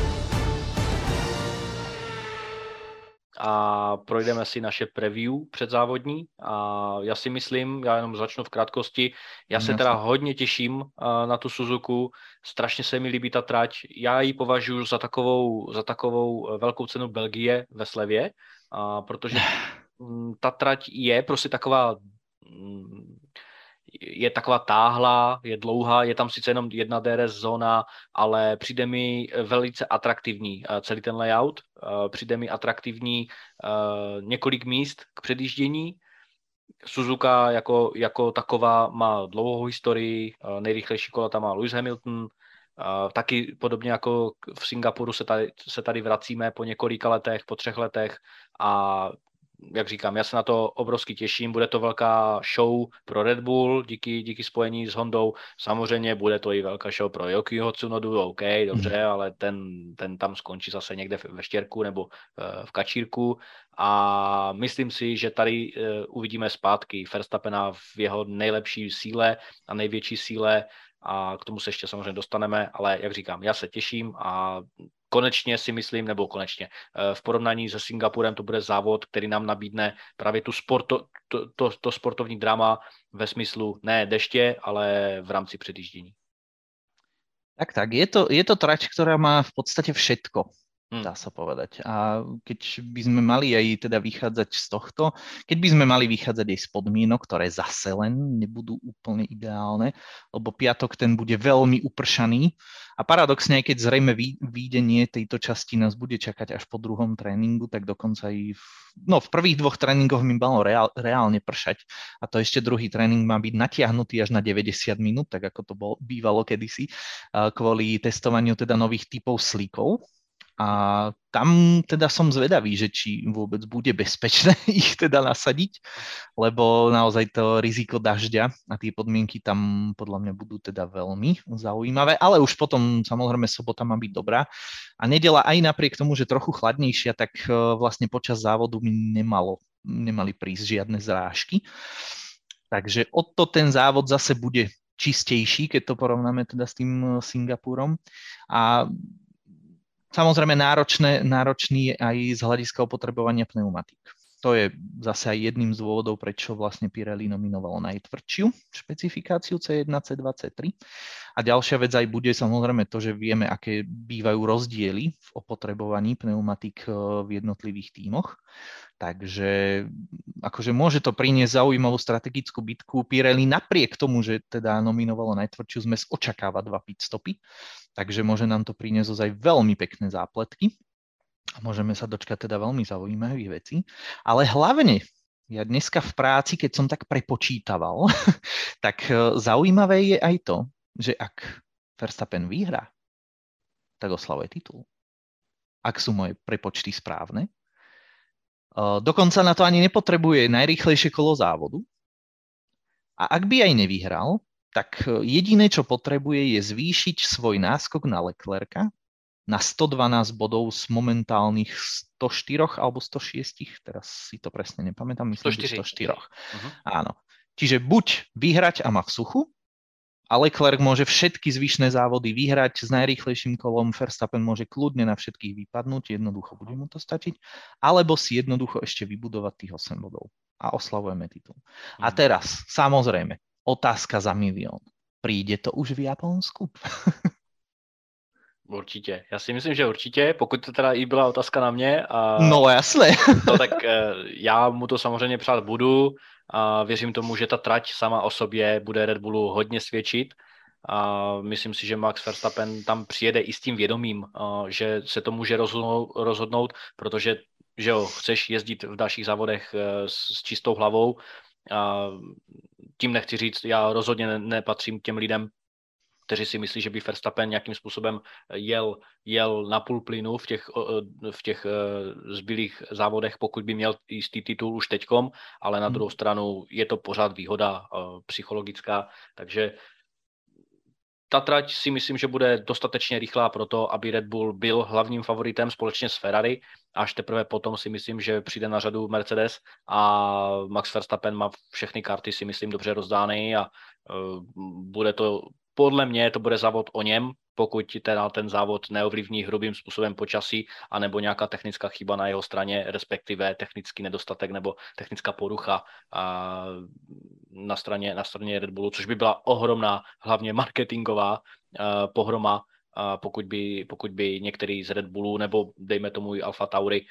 A projdeme si naše preview předzávodní. A já si myslím, já jenom začnu v krátkosti, já se teda hodně těším na tu Suzuku, strašně se mi líbí ta trať, já ji považuji za takovou, za takovou velkou cenu Belgie ve slevě, a protože ta trať je prostě taková, je taková táhlá, je dlouhá, je tam sice jenom jedna dé er es zóna, ale přijde mi velice atraktivní celý ten layout, přijde mi atraktivní několik míst k předjíždění. Suzuka jako, jako taková má dlouhou historii, nejrychlejší kola tam má Lewis Hamilton, taky podobně jako v Singapuru se tady, se tady vracíme po několika letech, po třech letech a jak říkám, já se na to obrovsky těším, bude to velká show pro Red Bull, díky, díky spojení s Hondou, samozřejmě bude to i velká show pro Yukiho Tsunodu, OK, dobře, ale ten, ten tam skončí zase někde ve štěrku nebo v kačírku a myslím si, že tady uvidíme zpátky Verstappena v jeho nejlepší síle a největší síle a k tomu se ještě samozřejmě dostaneme, ale jak říkám, já se těším a konečně si myslím, nebo konečně v porovnání se Singapurem to bude závod, který nám nabídne právě tu sporto, to, to, to sportovní drama ve smyslu ne deště, ale v rámci předjíždění. Tak, tak. Je to, je to trať, ktorá má v podstate všetko, dá sa povedať. A keď by sme mali aj teda vychádzať z tohto, keď by sme mali vychádzať aj z podmienok, ktoré zase len nebudú úplne ideálne, lebo piatok ten bude veľmi upršaný a paradoxne, aj keď zrejme výjdenie tejto časti nás bude čakať až po druhom tréningu, tak dokonca aj v, no, v prvých dvoch tréningoch mi malo reál, reálne pršať a to ešte druhý tréning má byť natiahnutý až na deväťdesiat minút, tak ako to bol, bývalo kedysi, kvôli testovaniu teda nových typov slíkov. A tam teda som zvedavý, že či vôbec bude bezpečné ich teda nasadiť, lebo naozaj to riziko dažďa a tie podmienky tam podľa mňa budú teda veľmi zaujímavé, ale už potom samozrejme sobota má byť dobrá a nedeľa aj napriek tomu, že trochu chladnejšia, tak vlastne počas závodu mi nemalo, nemali prísť žiadne zrážky. Takže o to ten závod zase bude čistejší, keď to porovnáme teda s tým Singapurom a samozrejme náročné, náročný je aj z hľadiska opotrebovania pneumatík. to je zase aj jedným z dôvodov, prečo vlastne Pirelli nominovalo najtvrdšiu špecifikáciu cé jeden, cé dva, cé tri. A ďalšia vec aj bude samozrejme to, že vieme, aké bývajú rozdiely v opotrebovaní pneumatík v jednotlivých tímoch. Takže akože môže to priniesť zaujímavú strategickú bitku. Pirelli napriek tomu, že teda nominovalo najtvrdšiu zmes, očakáva dva pitstopy, takže môže nám to priniesť aj veľmi pekné zápletky. A môžeme sa dočkať teda veľmi zaujímavých vecí. Ale hlavne, ja dneska v práci, keď som tak prepočítaval, tak zaujímavé je aj to, že ak Verstappen vyhrá, tak oslavuje titul. Ak sú moje prepočty správne. Dokonca na to ani nepotrebuje najrýchlejšie kolo závodu. A ak by aj nevyhral, tak jediné, čo potrebuje, je zvýšiť svoj náskok na Leclerca na sto dvanásť bodov z momentálnych sto štyri alebo sto šesť, teraz si to presne nepamätám, myslím, sto štyri. sto štyri. Uh-huh. Áno. Čiže buď vyhrať a má v suchu, a Leclerc môže všetky zvyšné závody vyhrať s najrýchlejším kolom, Verstappen môže kľudne na všetkých vypadnúť, jednoducho bude mu to stačiť, alebo si jednoducho ešte vybudovať tých osem bodov a oslavujeme titul. Uh-huh. A teraz, samozrejme, otázka za milión. Príde to už v Japonsku? Určitě. Já si myslím, že určitě, pokud to teda i byla otázka na mě. A no jasné. No, tak já mu to samozřejmě přát budu a věřím tomu, že ta trať sama o sobě bude Red Bullu hodně svědčit a myslím si, že Max Verstappen tam přijede i s tím vědomím, že se to může rozhodnout, rozhodnout protože že jo, chceš jezdit v dalších závodech s, s čistou hlavou. A tím nechci říct, já rozhodně nepatřím k těm lidem, kteří si myslí, že by Verstappen nějakým způsobem jel, jel na půl plynu v těch, v těch zbylých závodech, pokud by měl jistý titul už teďkom, ale na druhou stranu je to pořád výhoda psychologická, takže ta trať si myslím, že bude dostatečně rychlá pro to, aby Red Bull byl hlavním favoritem společně s Ferrari. Až teprve potom si myslím, že přijde na řadu Mercedes a Max Verstappen má všechny karty, si myslím, dobře rozdány a uh, bude to, podle mě to bude závod o něm, pokud teda ten závod neovlivní hrubým způsobem počasí anebo nějaká technická chyba na jeho straně, respektive technický nedostatek nebo technická porucha a na straně, na straně Red Bullu, což by byla ohromná, hlavně marketingová uh, pohroma, uh, pokud, by, pokud by některý z Red Bullu nebo dejme tomu i Alfa Tauri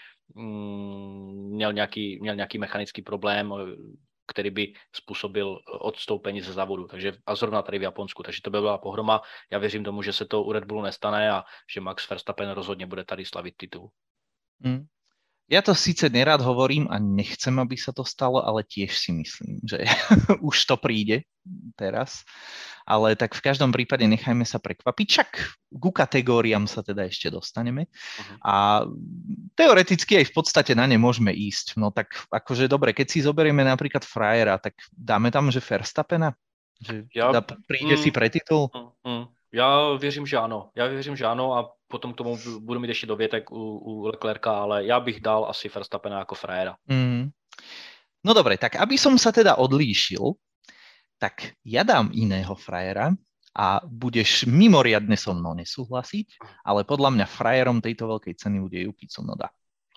mm, měl, nějaký, měl nějaký mechanický problém, který by způsobil odstoupení ze závodu. Takže a zrovna tady v Japonsku. Takže to by byla pohroma. Já věřím tomu, že se to u Red Bullu nestane a že Max Verstappen rozhodně bude tady slavit titul. Mm. Ja to síce nerád hovorím a nechcem, aby sa to stalo, ale tiež si myslím, že už to príde teraz. Ale tak v každom prípade nechajme sa prekvapiť. Čak ku kategóriám sa teda ešte dostaneme. Uh-huh. A teoreticky aj v podstate na ne môžeme ísť. No tak akože dobre, keď si zoberieme napríklad frajera, tak dáme tam, že Verstappena? Že ja, teda príde mm, si pre titul? Mm, mm. Já věřím, že ano. Já věřím, že ano a potom k tomu budu mít ještě dovětek u, u Leclerca, ale já bych dal asi Verstappena jako frajera. Mm. No dobre, tak aby som sa teda odlíšil, tak ja dám iného frajera a budeš mimoriadne so mnou nesúhlasiť, ale podľa mňa frajerom tejto veľkej ceny bude Yuki Tsunoda.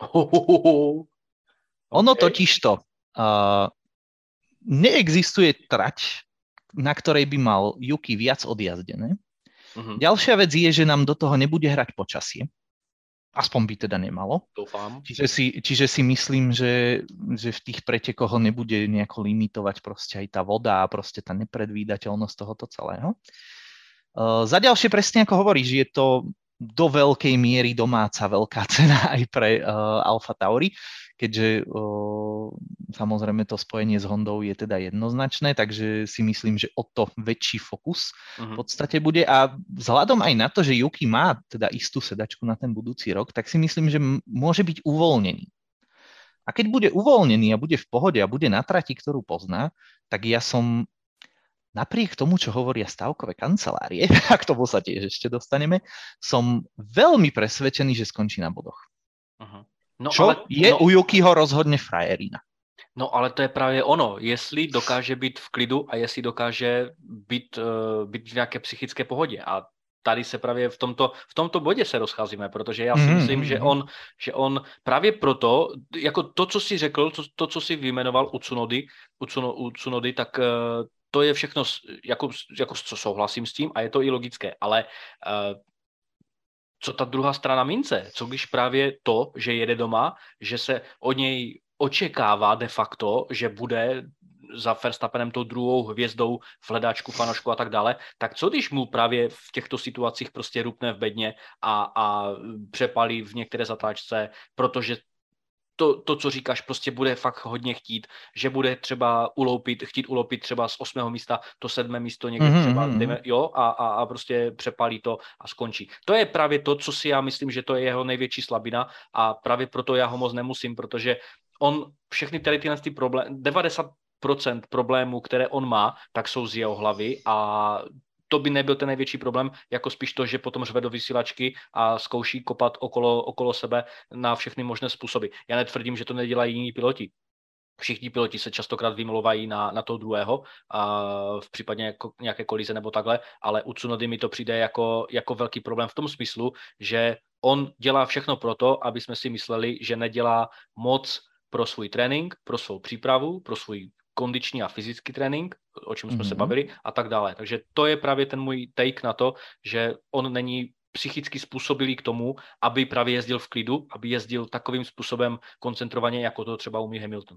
Okay. Ono totižto uh, neexistuje trať, na ktorej by mal Yuki viac odjazdené. Uh-huh. Ďalšia vec je, že nám do toho nebude hrať počasie. Aspoň by teda nemalo. Dúfam. Čiže si, čiže si myslím, že, že v tých pretekoch ho nebude nejako limitovať proste aj tá voda a proste tá nepredvídateľnosť tohoto celého. Uh, za ďalšie presne ako hovoríš, je to do veľkej miery domáca veľká cena aj pre uh, Alfa Tauri, keďže uh, samozrejme to spojenie s Hondou je teda jednoznačné, takže si myslím, že o to väčší fokus uh-huh. v podstate bude a vzhľadom aj na to, že Yuki má teda istú sedačku na ten budúci rok, tak si myslím, že m- môže byť uvoľnený. A keď bude uvoľnený a bude v pohode a bude na trati, ktorú pozná, tak ja som napriek tomu, čo hovoria stavkové kancelárie, a k tomu sa tiež ešte dostaneme, som veľmi presvedčený, že skončí na bodoch. Uh-huh. No, čo ale, je no, u Yukiho rozhodne frajerina. No ale to je právě ono, jestli dokáže být v klidu a jestli dokáže být, uh, být v nějaké psychické pohodě. A tady se právě v tomto, v tomto bodě se rozcházíme, protože já si myslím, mm-hmm. že on, že on právě proto, jako to, co jsi řekl, to, to co jsi vyjmenoval u Tsunody, u, Tsuno, u Tsunody, tak uh, to je všechno, jako, jako co souhlasím s tím a je to i logické, ale uh, co ta druhá strana mince? Co když právě to, že jede doma, že se od něj očekává de facto, že bude za Verstappenem tou druhou hvězdou v hledáčku, fanošku a tak dále, tak co když mu právě v těchto situacích prostě rupne v bedně a, a přepalí v některé zatáčce, protože to, to, co říkáš, prostě bude fakt hodně chtít, že bude třeba uloupit, chtít uloupit třeba z osmého místa to sedmé místo někde mm-hmm. třeba, dejme, jo, a, a, a prostě přepálí to a skončí. To je právě to, co si já myslím, že to je jeho největší slabina a právě proto já ho moc nemusím, protože on všechny tady tyhle ty problémy, devadesát procent problémů, které on má, tak jsou z jeho hlavy a to by nebyl ten největší problém, jako spíš to, že potom řve do vysílačky a zkouší kopat okolo, okolo sebe na všechny možné způsoby. Já netvrdím, že to nedělají jiní piloti. Všichni piloti se častokrát vymlouvají na, na toho druhého a v případě jako nějaké kolize nebo takhle, ale u Tsunody mi to přijde jako, jako velký problém v tom smyslu, že on dělá všechno proto, aby jsme si mysleli, že nedělá moc pro svůj trénink, pro svou přípravu, pro svůj kondiční a fyzický trénink, o čem jsme mm-hmm. se bavili a tak dále. Takže to je právě ten můj take na to, že on není psychicky způsobilý k tomu, aby právě jezdil v klidu, aby jezdil takovým způsobem koncentrovaně, jako to třeba umí Hamilton.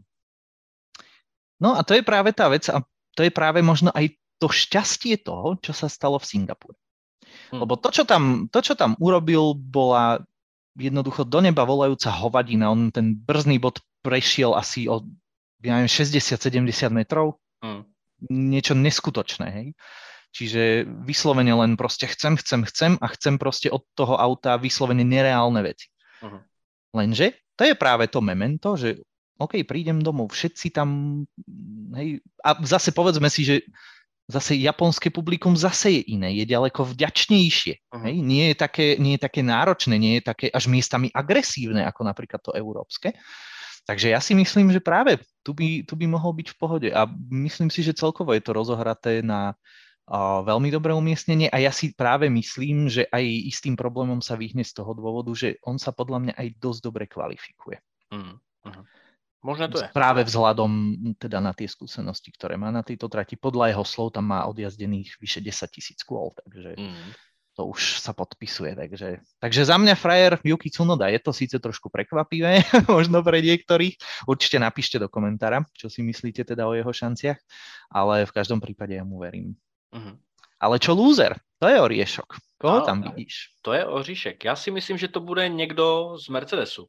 No a to je práve tá vec a to je práve možno aj to šťastie toho, čo sa stalo v Singapúre. Hmm. Lebo to čo, tam, to, čo tam urobil, bola jednoducho do neba volajúca hovadina. On ten brzdný bod prešiel asi o ja neviem, šesťdesiat sedemdesiat metrov. Hmm. Niečo neskutočné, hej. Čiže vyslovene len proste chcem, chcem, chcem a chcem proste od toho auta vyslovene nereálne veci. Hmm. Lenže to je práve to memento, že OK, prídem domov, všetci tam, hej, a zase povedzme si, že zase japonské publikum zase je iné, je ďaleko vďačnejšie, uh-huh. hej, nie je, také, nie je také náročné, nie je také až miestami agresívne, ako napríklad to európske. Takže ja si myslím, že práve tu by, tu by mohol byť v pohode a myslím si, že celkovo je to rozohraté na uh, veľmi dobré umiestnenie a ja si práve myslím, že aj istým problémom sa vyhne z toho dôvodu, že on sa podľa mňa aj dosť dobre kvalifikuje. Uh-huh. Uh-huh. Možno to je. Práve vzhľadom teda na tie skúsenosti, ktoré má na tejto trati. Podľa jeho slov tam má odjazdených vyše desať tisíc kôl, takže mm. to už sa podpisuje. Takže, takže za mňa frajer Yuki Tsunoda, je to síce trošku prekvapivé, možno pre niektorých. Určite napíšte do komentára, čo si myslíte teda o jeho šanciach, ale v každom prípade ja mu verím. Mm. Ale čo loser? To je oriešok. Koho ale, tam vidíš? To je oříšek. Já si myslím, že to bude někdo z Mercedesu.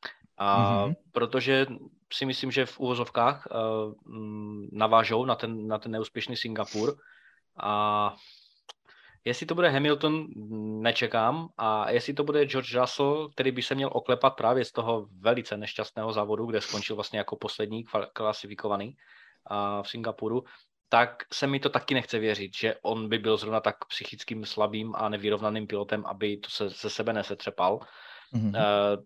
A mm-hmm. protože si myslím, že v úvozovkách uh, navážou na ten, na ten neúspěšný Singapur a jestli to bude Hamilton, nečekám a jestli to bude George Russell, který by se měl oklepat právě z toho velice nešťastného závodu, kde skončil vlastně jako poslední klasifikovaný uh, v Singapuru, tak se mi to taky nechce věřit, že on by byl zrovna tak psychickým slabým a nevyrovnaným pilotem, aby to se ze sebe nesetřepal. Mm-hmm. Uh,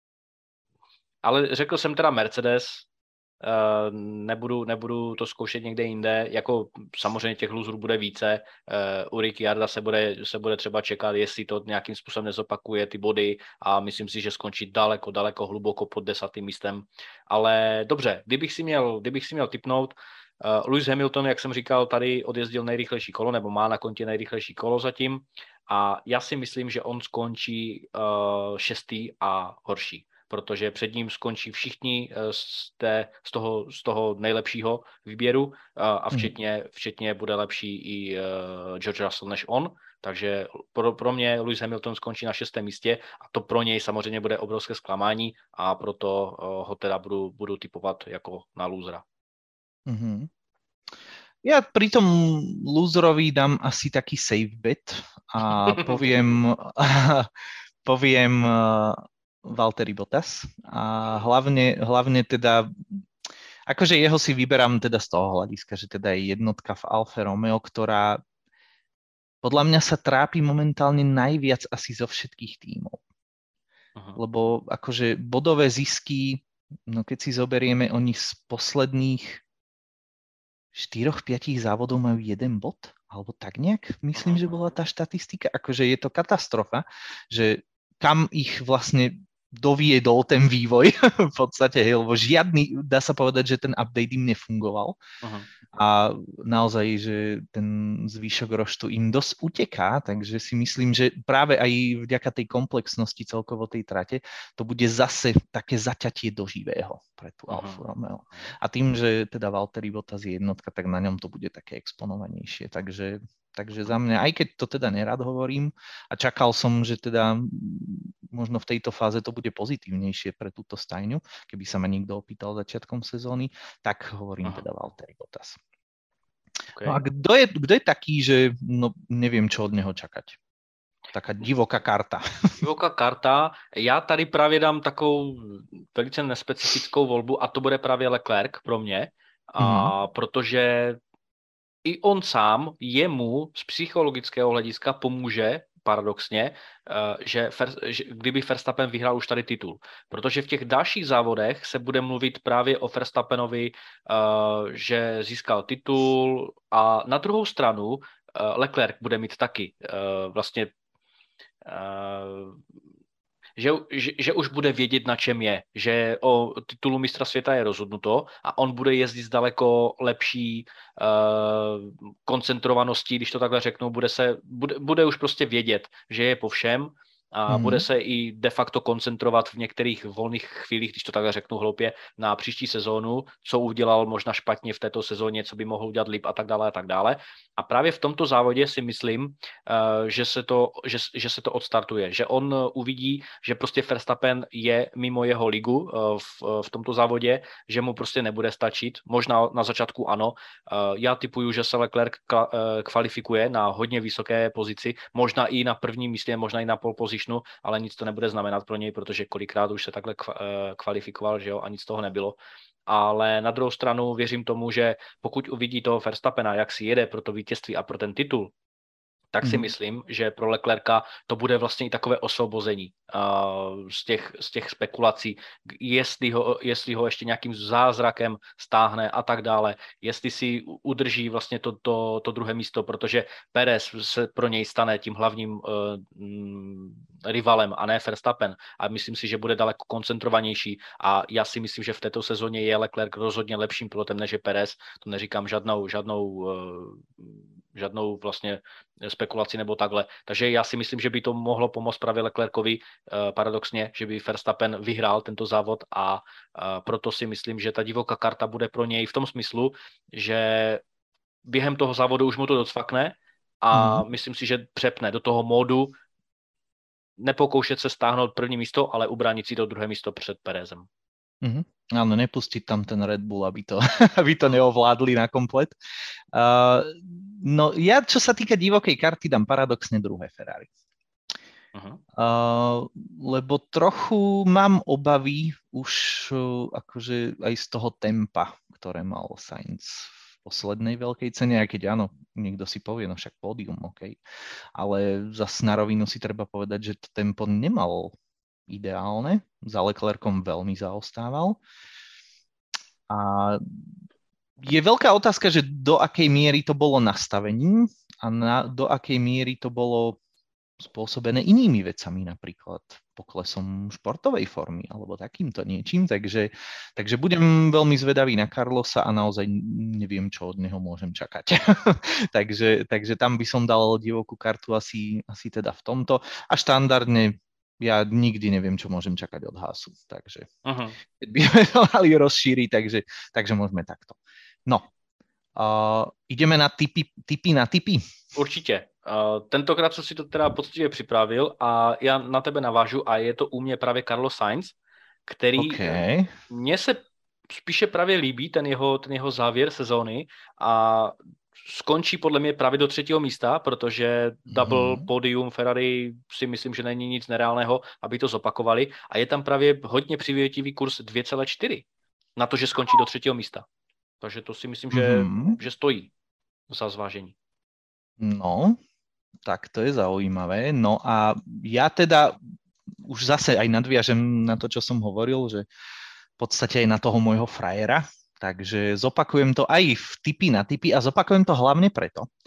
Ale řekl jsem teda Mercedes, uh, nebudu, nebudu to zkoušet někde jinde, jako samozřejmě těch loserů bude více, uh, u Ricciarda se bude, se bude třeba čekat, jestli to nějakým způsobem nezopakuje ty body a myslím si, že skončí daleko, daleko hluboko pod desátým místem, ale dobře, kdybych si měl, kdybych si měl tipnout, uh, Lewis Hamilton, jak jsem říkal, tady odjezdil nejrychlejší kolo, nebo má na kontě nejrychlejší kolo zatím a já si myslím, že on skončí uh, šestý a horší, protože před ním skončí všichni z, té, z, toho, z toho nejlepšího výběru a včetně, včetně bude lepší i George Russell než on, takže pro, pro mě Lewis Hamilton skončí na šestém místě a to pro něj samozřejmě bude obrovské zklamání a proto ho teda budu, budu typovat jako na losera. Mm-hmm. Ja pri tom loserovi dám asi taký safe bet a poviem poviem Valtteri Bottas a hlavne, hlavne teda, akože jeho si vyberám teda z toho hľadiska, že teda je jednotka v Alfa Romeo, ktorá podľa mňa sa trápi momentálne najviac asi zo všetkých tímov. Aha. Lebo akože bodové zisky, no keď si zoberieme, oni z posledných štyroch, piatich závodov majú jeden bod, alebo tak nejak, myslím, že bola tá štatistika, akože je to katastrofa, že kam ich vlastne doviedol ten vývoj v podstate, hej, lebo žiadny, dá sa povedať, že ten update im nefungoval. Uh-huh. A naozaj, že ten zvýšok roštu im dosť uteká, takže si myslím, že práve aj vďaka tej komplexnosti celkovo tej trate to bude zase také zaťatie do živého pre tú uh-huh. Alfa Romeo. A tým, že teda Valtteri Bottas je jednotka, tak na ňom to bude také exponovanejšie. Takže, takže za mňa, aj keď to teda nerad hovorím a čakal som, že teda možno v tejto fáze to bude pozitívnejšie pre túto stajňu, keby sa ma niekto opýtal začiatkom sezóny, tak hovorím uh-huh. teda Valtteri Bottas. Okay. No a kto je, kto je taký, že no, neviem, čo od neho čakať? Taká divoká karta. Divoká karta. Já tady právě dám takovou velice nespecifickou volbu a to bude právě Leclerc pro mě, a mm-hmm. protože i on sám jemu z psychologického hlediska pomůže paradoxně, že, že kdyby Verstappen vyhrál už tady titul. Protože v těch dalších závodech se bude mluvit právě o Verstappenovi, že získal titul a na druhou stranu Leclerc bude mít taky vlastně Že, že, že už bude vědět, na čem je, že o titulu mistra světa je rozhodnuto a on bude jezdit s daleko lepší uh, koncentrovaností, když to takhle řeknu, bude, se, bude, bude už prostě vědět, že je po všem a mm-hmm. bude se i de facto koncentrovat v některých volných chvílích, když to takhle řeknu hloupě, na příští sezónu, co udělal možná špatně v této sezóně, co by mohl udělat líp a tak dále a tak dále. A právě v tomto závodě si myslím, uh, že, se to, že, že se to odstartuje, že on uvidí, že prostě Verstappen je mimo jeho ligu uh, v, v tomto závodě, že mu prostě nebude stačit. Možná na začátku ano. Uh, já tipuju, že se Leclerc ka, uh, kvalifikuje na hodně vysoké pozici, možná i na prvním místě, možná i na pole position, ale nic to nebude znamenat pro něj, protože kolikrát už se takhle kvalifikoval, že jo, a nic z toho nebylo. Ale na druhou stranu věřím tomu, že pokud uvidí toho Verstappena, jak si jede pro to vítězství a pro ten titul, tak si mm. myslím, že pro Leclerca to bude vlastně i takové osvobození uh, z, těch, z těch spekulací, jestli ho, jestli ho ještě nějakým zázrakem stáhne a tak dále, jestli si udrží vlastně to, to, to druhé místo, protože Perez se pro něj stane tím hlavním uh, rivalem a ne Verstappen a myslím si, že bude daleko koncentrovanější a já si myslím, že v této sezóně je Leclerc rozhodně lepším pilotem než je Perez, to neříkám žádnou, žádnou uh, žádnou vlastně spekulaci nebo takhle. Takže já si myslím, že by to mohlo pomoct právě Leclercovi uh, paradoxně, že by Verstappen vyhrál tento závod a uh, proto si myslím, že ta divoká karta bude pro něj v tom smyslu, že během toho závodu už mu to docvakne a mm. myslím si, že přepne do toho módu nepokoušet se stáhnout první místo, ale ubránit si to druhé místo před Perezem. Mm-hmm. Áno, nepustiť tam ten Red Bull, aby to, aby to neovládli na komplet. Uh, no ja, čo sa týka divokej karty, dám paradoxne druhé Ferrari. Uh-huh. Uh, lebo trochu mám obavy už uh, akože aj z toho tempa, ktoré mal Sainz v poslednej veľkej cene, aj keď áno, niekto si povie, no však pódium, ok. Ale zas na rovinu si treba povedať, že to tempo nemal ideálne. Za Leclercom veľmi zaostával. A je veľká otázka, že do akej miery to bolo nastavením a na, do akej miery to bolo spôsobené inými vecami, napríklad poklesom športovej formy alebo takýmto niečím. Takže, takže budem veľmi zvedavý na Carlosa a naozaj neviem, čo od neho môžem čakať. takže, takže tam by som dal divokú kartu asi, asi teda v tomto. A štandardne ja nikdy neviem, čo môžem čakať od Haasu, takže uh-huh. keď by sme to mali rozšíriť, takže, takže môžeme takto. No, uh, ideme na tipy, tipy na tipy. Určitě. Uh, tentokrát jsem si to teda poctivě připravil a já na tebe navážu a je to u mě právě Carlos Sainz, který okay. mně se spíše právě líbí, ten jeho, ten jeho závěr sezóny a skončí podle mě právě do třetího místa, protože double hmm. podium Ferrari si myslím, že není nic nereálného, aby to zopakovali. A je tam právě hodně přivětivý kurz dvě celé čtyři na to, že skončí do třetího místa. Takže to si myslím, že, hmm. že stojí za zvážení. No, tak to je zaujímavé. No a ja teda už zase aj nadviažem na to, čo som hovoril, že v podstate aj na toho môjho frajera. Takže zopakujem to aj v tipy na tipy a zopakujem to hlavne preto,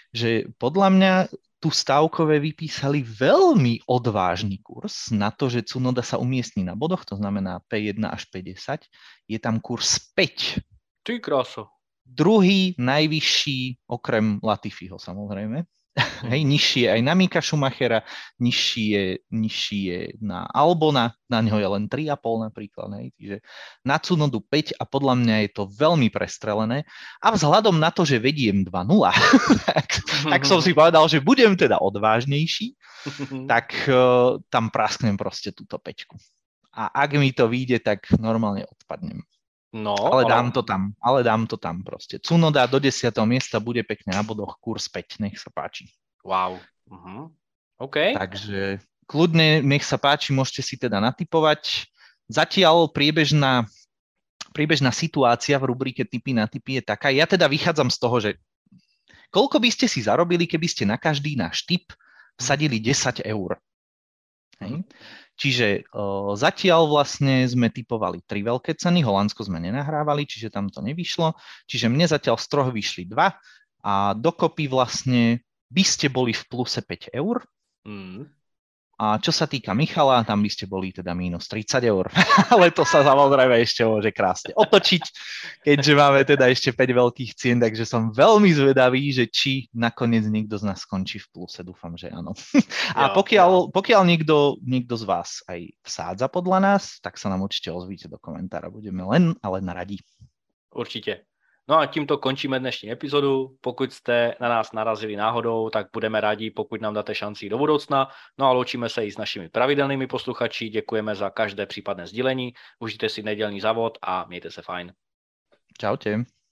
že podľa mňa tu stávkové vypísali veľmi odvážny kurz na to, že Tsunoda sa umiestni na bodoch, to znamená pé jeden až pé desať, je tam kurz päť. Ty kráso. Druhý najvyšší, okrem Latifiho samozrejme. Mm. Hej, nižší je aj na Mika Schumachera, nižší je, nižší je na Albona, na neho je len tri a pol napríklad. Hej. Čiže na Tsunodu päť a podľa mňa je to veľmi prestrelené. A vzhľadom na to, že vediem dva nula, tak, tak som si povedal, že budem teda odvážnejší, tak uh, tam prasknem proste túto päťku. A ak mi to vyjde, tak normálne odpadnem. No, ale, ale dám to tam, ale dám to tam proste. Tsunoda do desiateho miesta bude pekne na bodoch, kurz päť, nech sa páči. Wow. Uh-huh. OK. Takže kľudne, nech sa páči, môžete si teda natipovať. Zatiaľ priebežná, priebežná situácia v rubrike Tipy na tipy je taká. Ja teda vychádzam z toho, že koľko by ste si zarobili, keby ste na každý náš tip vsadili desať eur. Hej. Čiže o, zatiaľ vlastne sme tipovali tri veľké ceny, Holandsko sme nenahrávali, čiže tam to nevyšlo. Čiže mne zatiaľ z troch vyšli dva a dokopy vlastne by ste boli v pluse päť eur. Mm. A čo sa týka Michala, tam by ste boli teda mínus tridsať eur. Ale to sa samozrejme ešte môže krásne otočiť, keďže máme teda ešte päť veľkých cien, takže som veľmi zvedavý, že či nakoniec niekto z nás skončí v pluse. Dúfam, že áno. A pokiaľ, pokiaľ niekto, niekto z vás aj vsádza podľa nás, tak sa nám určite ozvíte do komentára. Budeme len a len radi. Určite. No a tímto končíme dnešní epizodu. Pokud jste na nás narazili náhodou, tak budeme rádi, pokud nám dáte šanci do budoucna. No a loučíme se i s našimi pravidelnými posluchači. Děkujeme za každé případné sdílení. Užijte si nedělní závod a mějte se fajn. Čaute.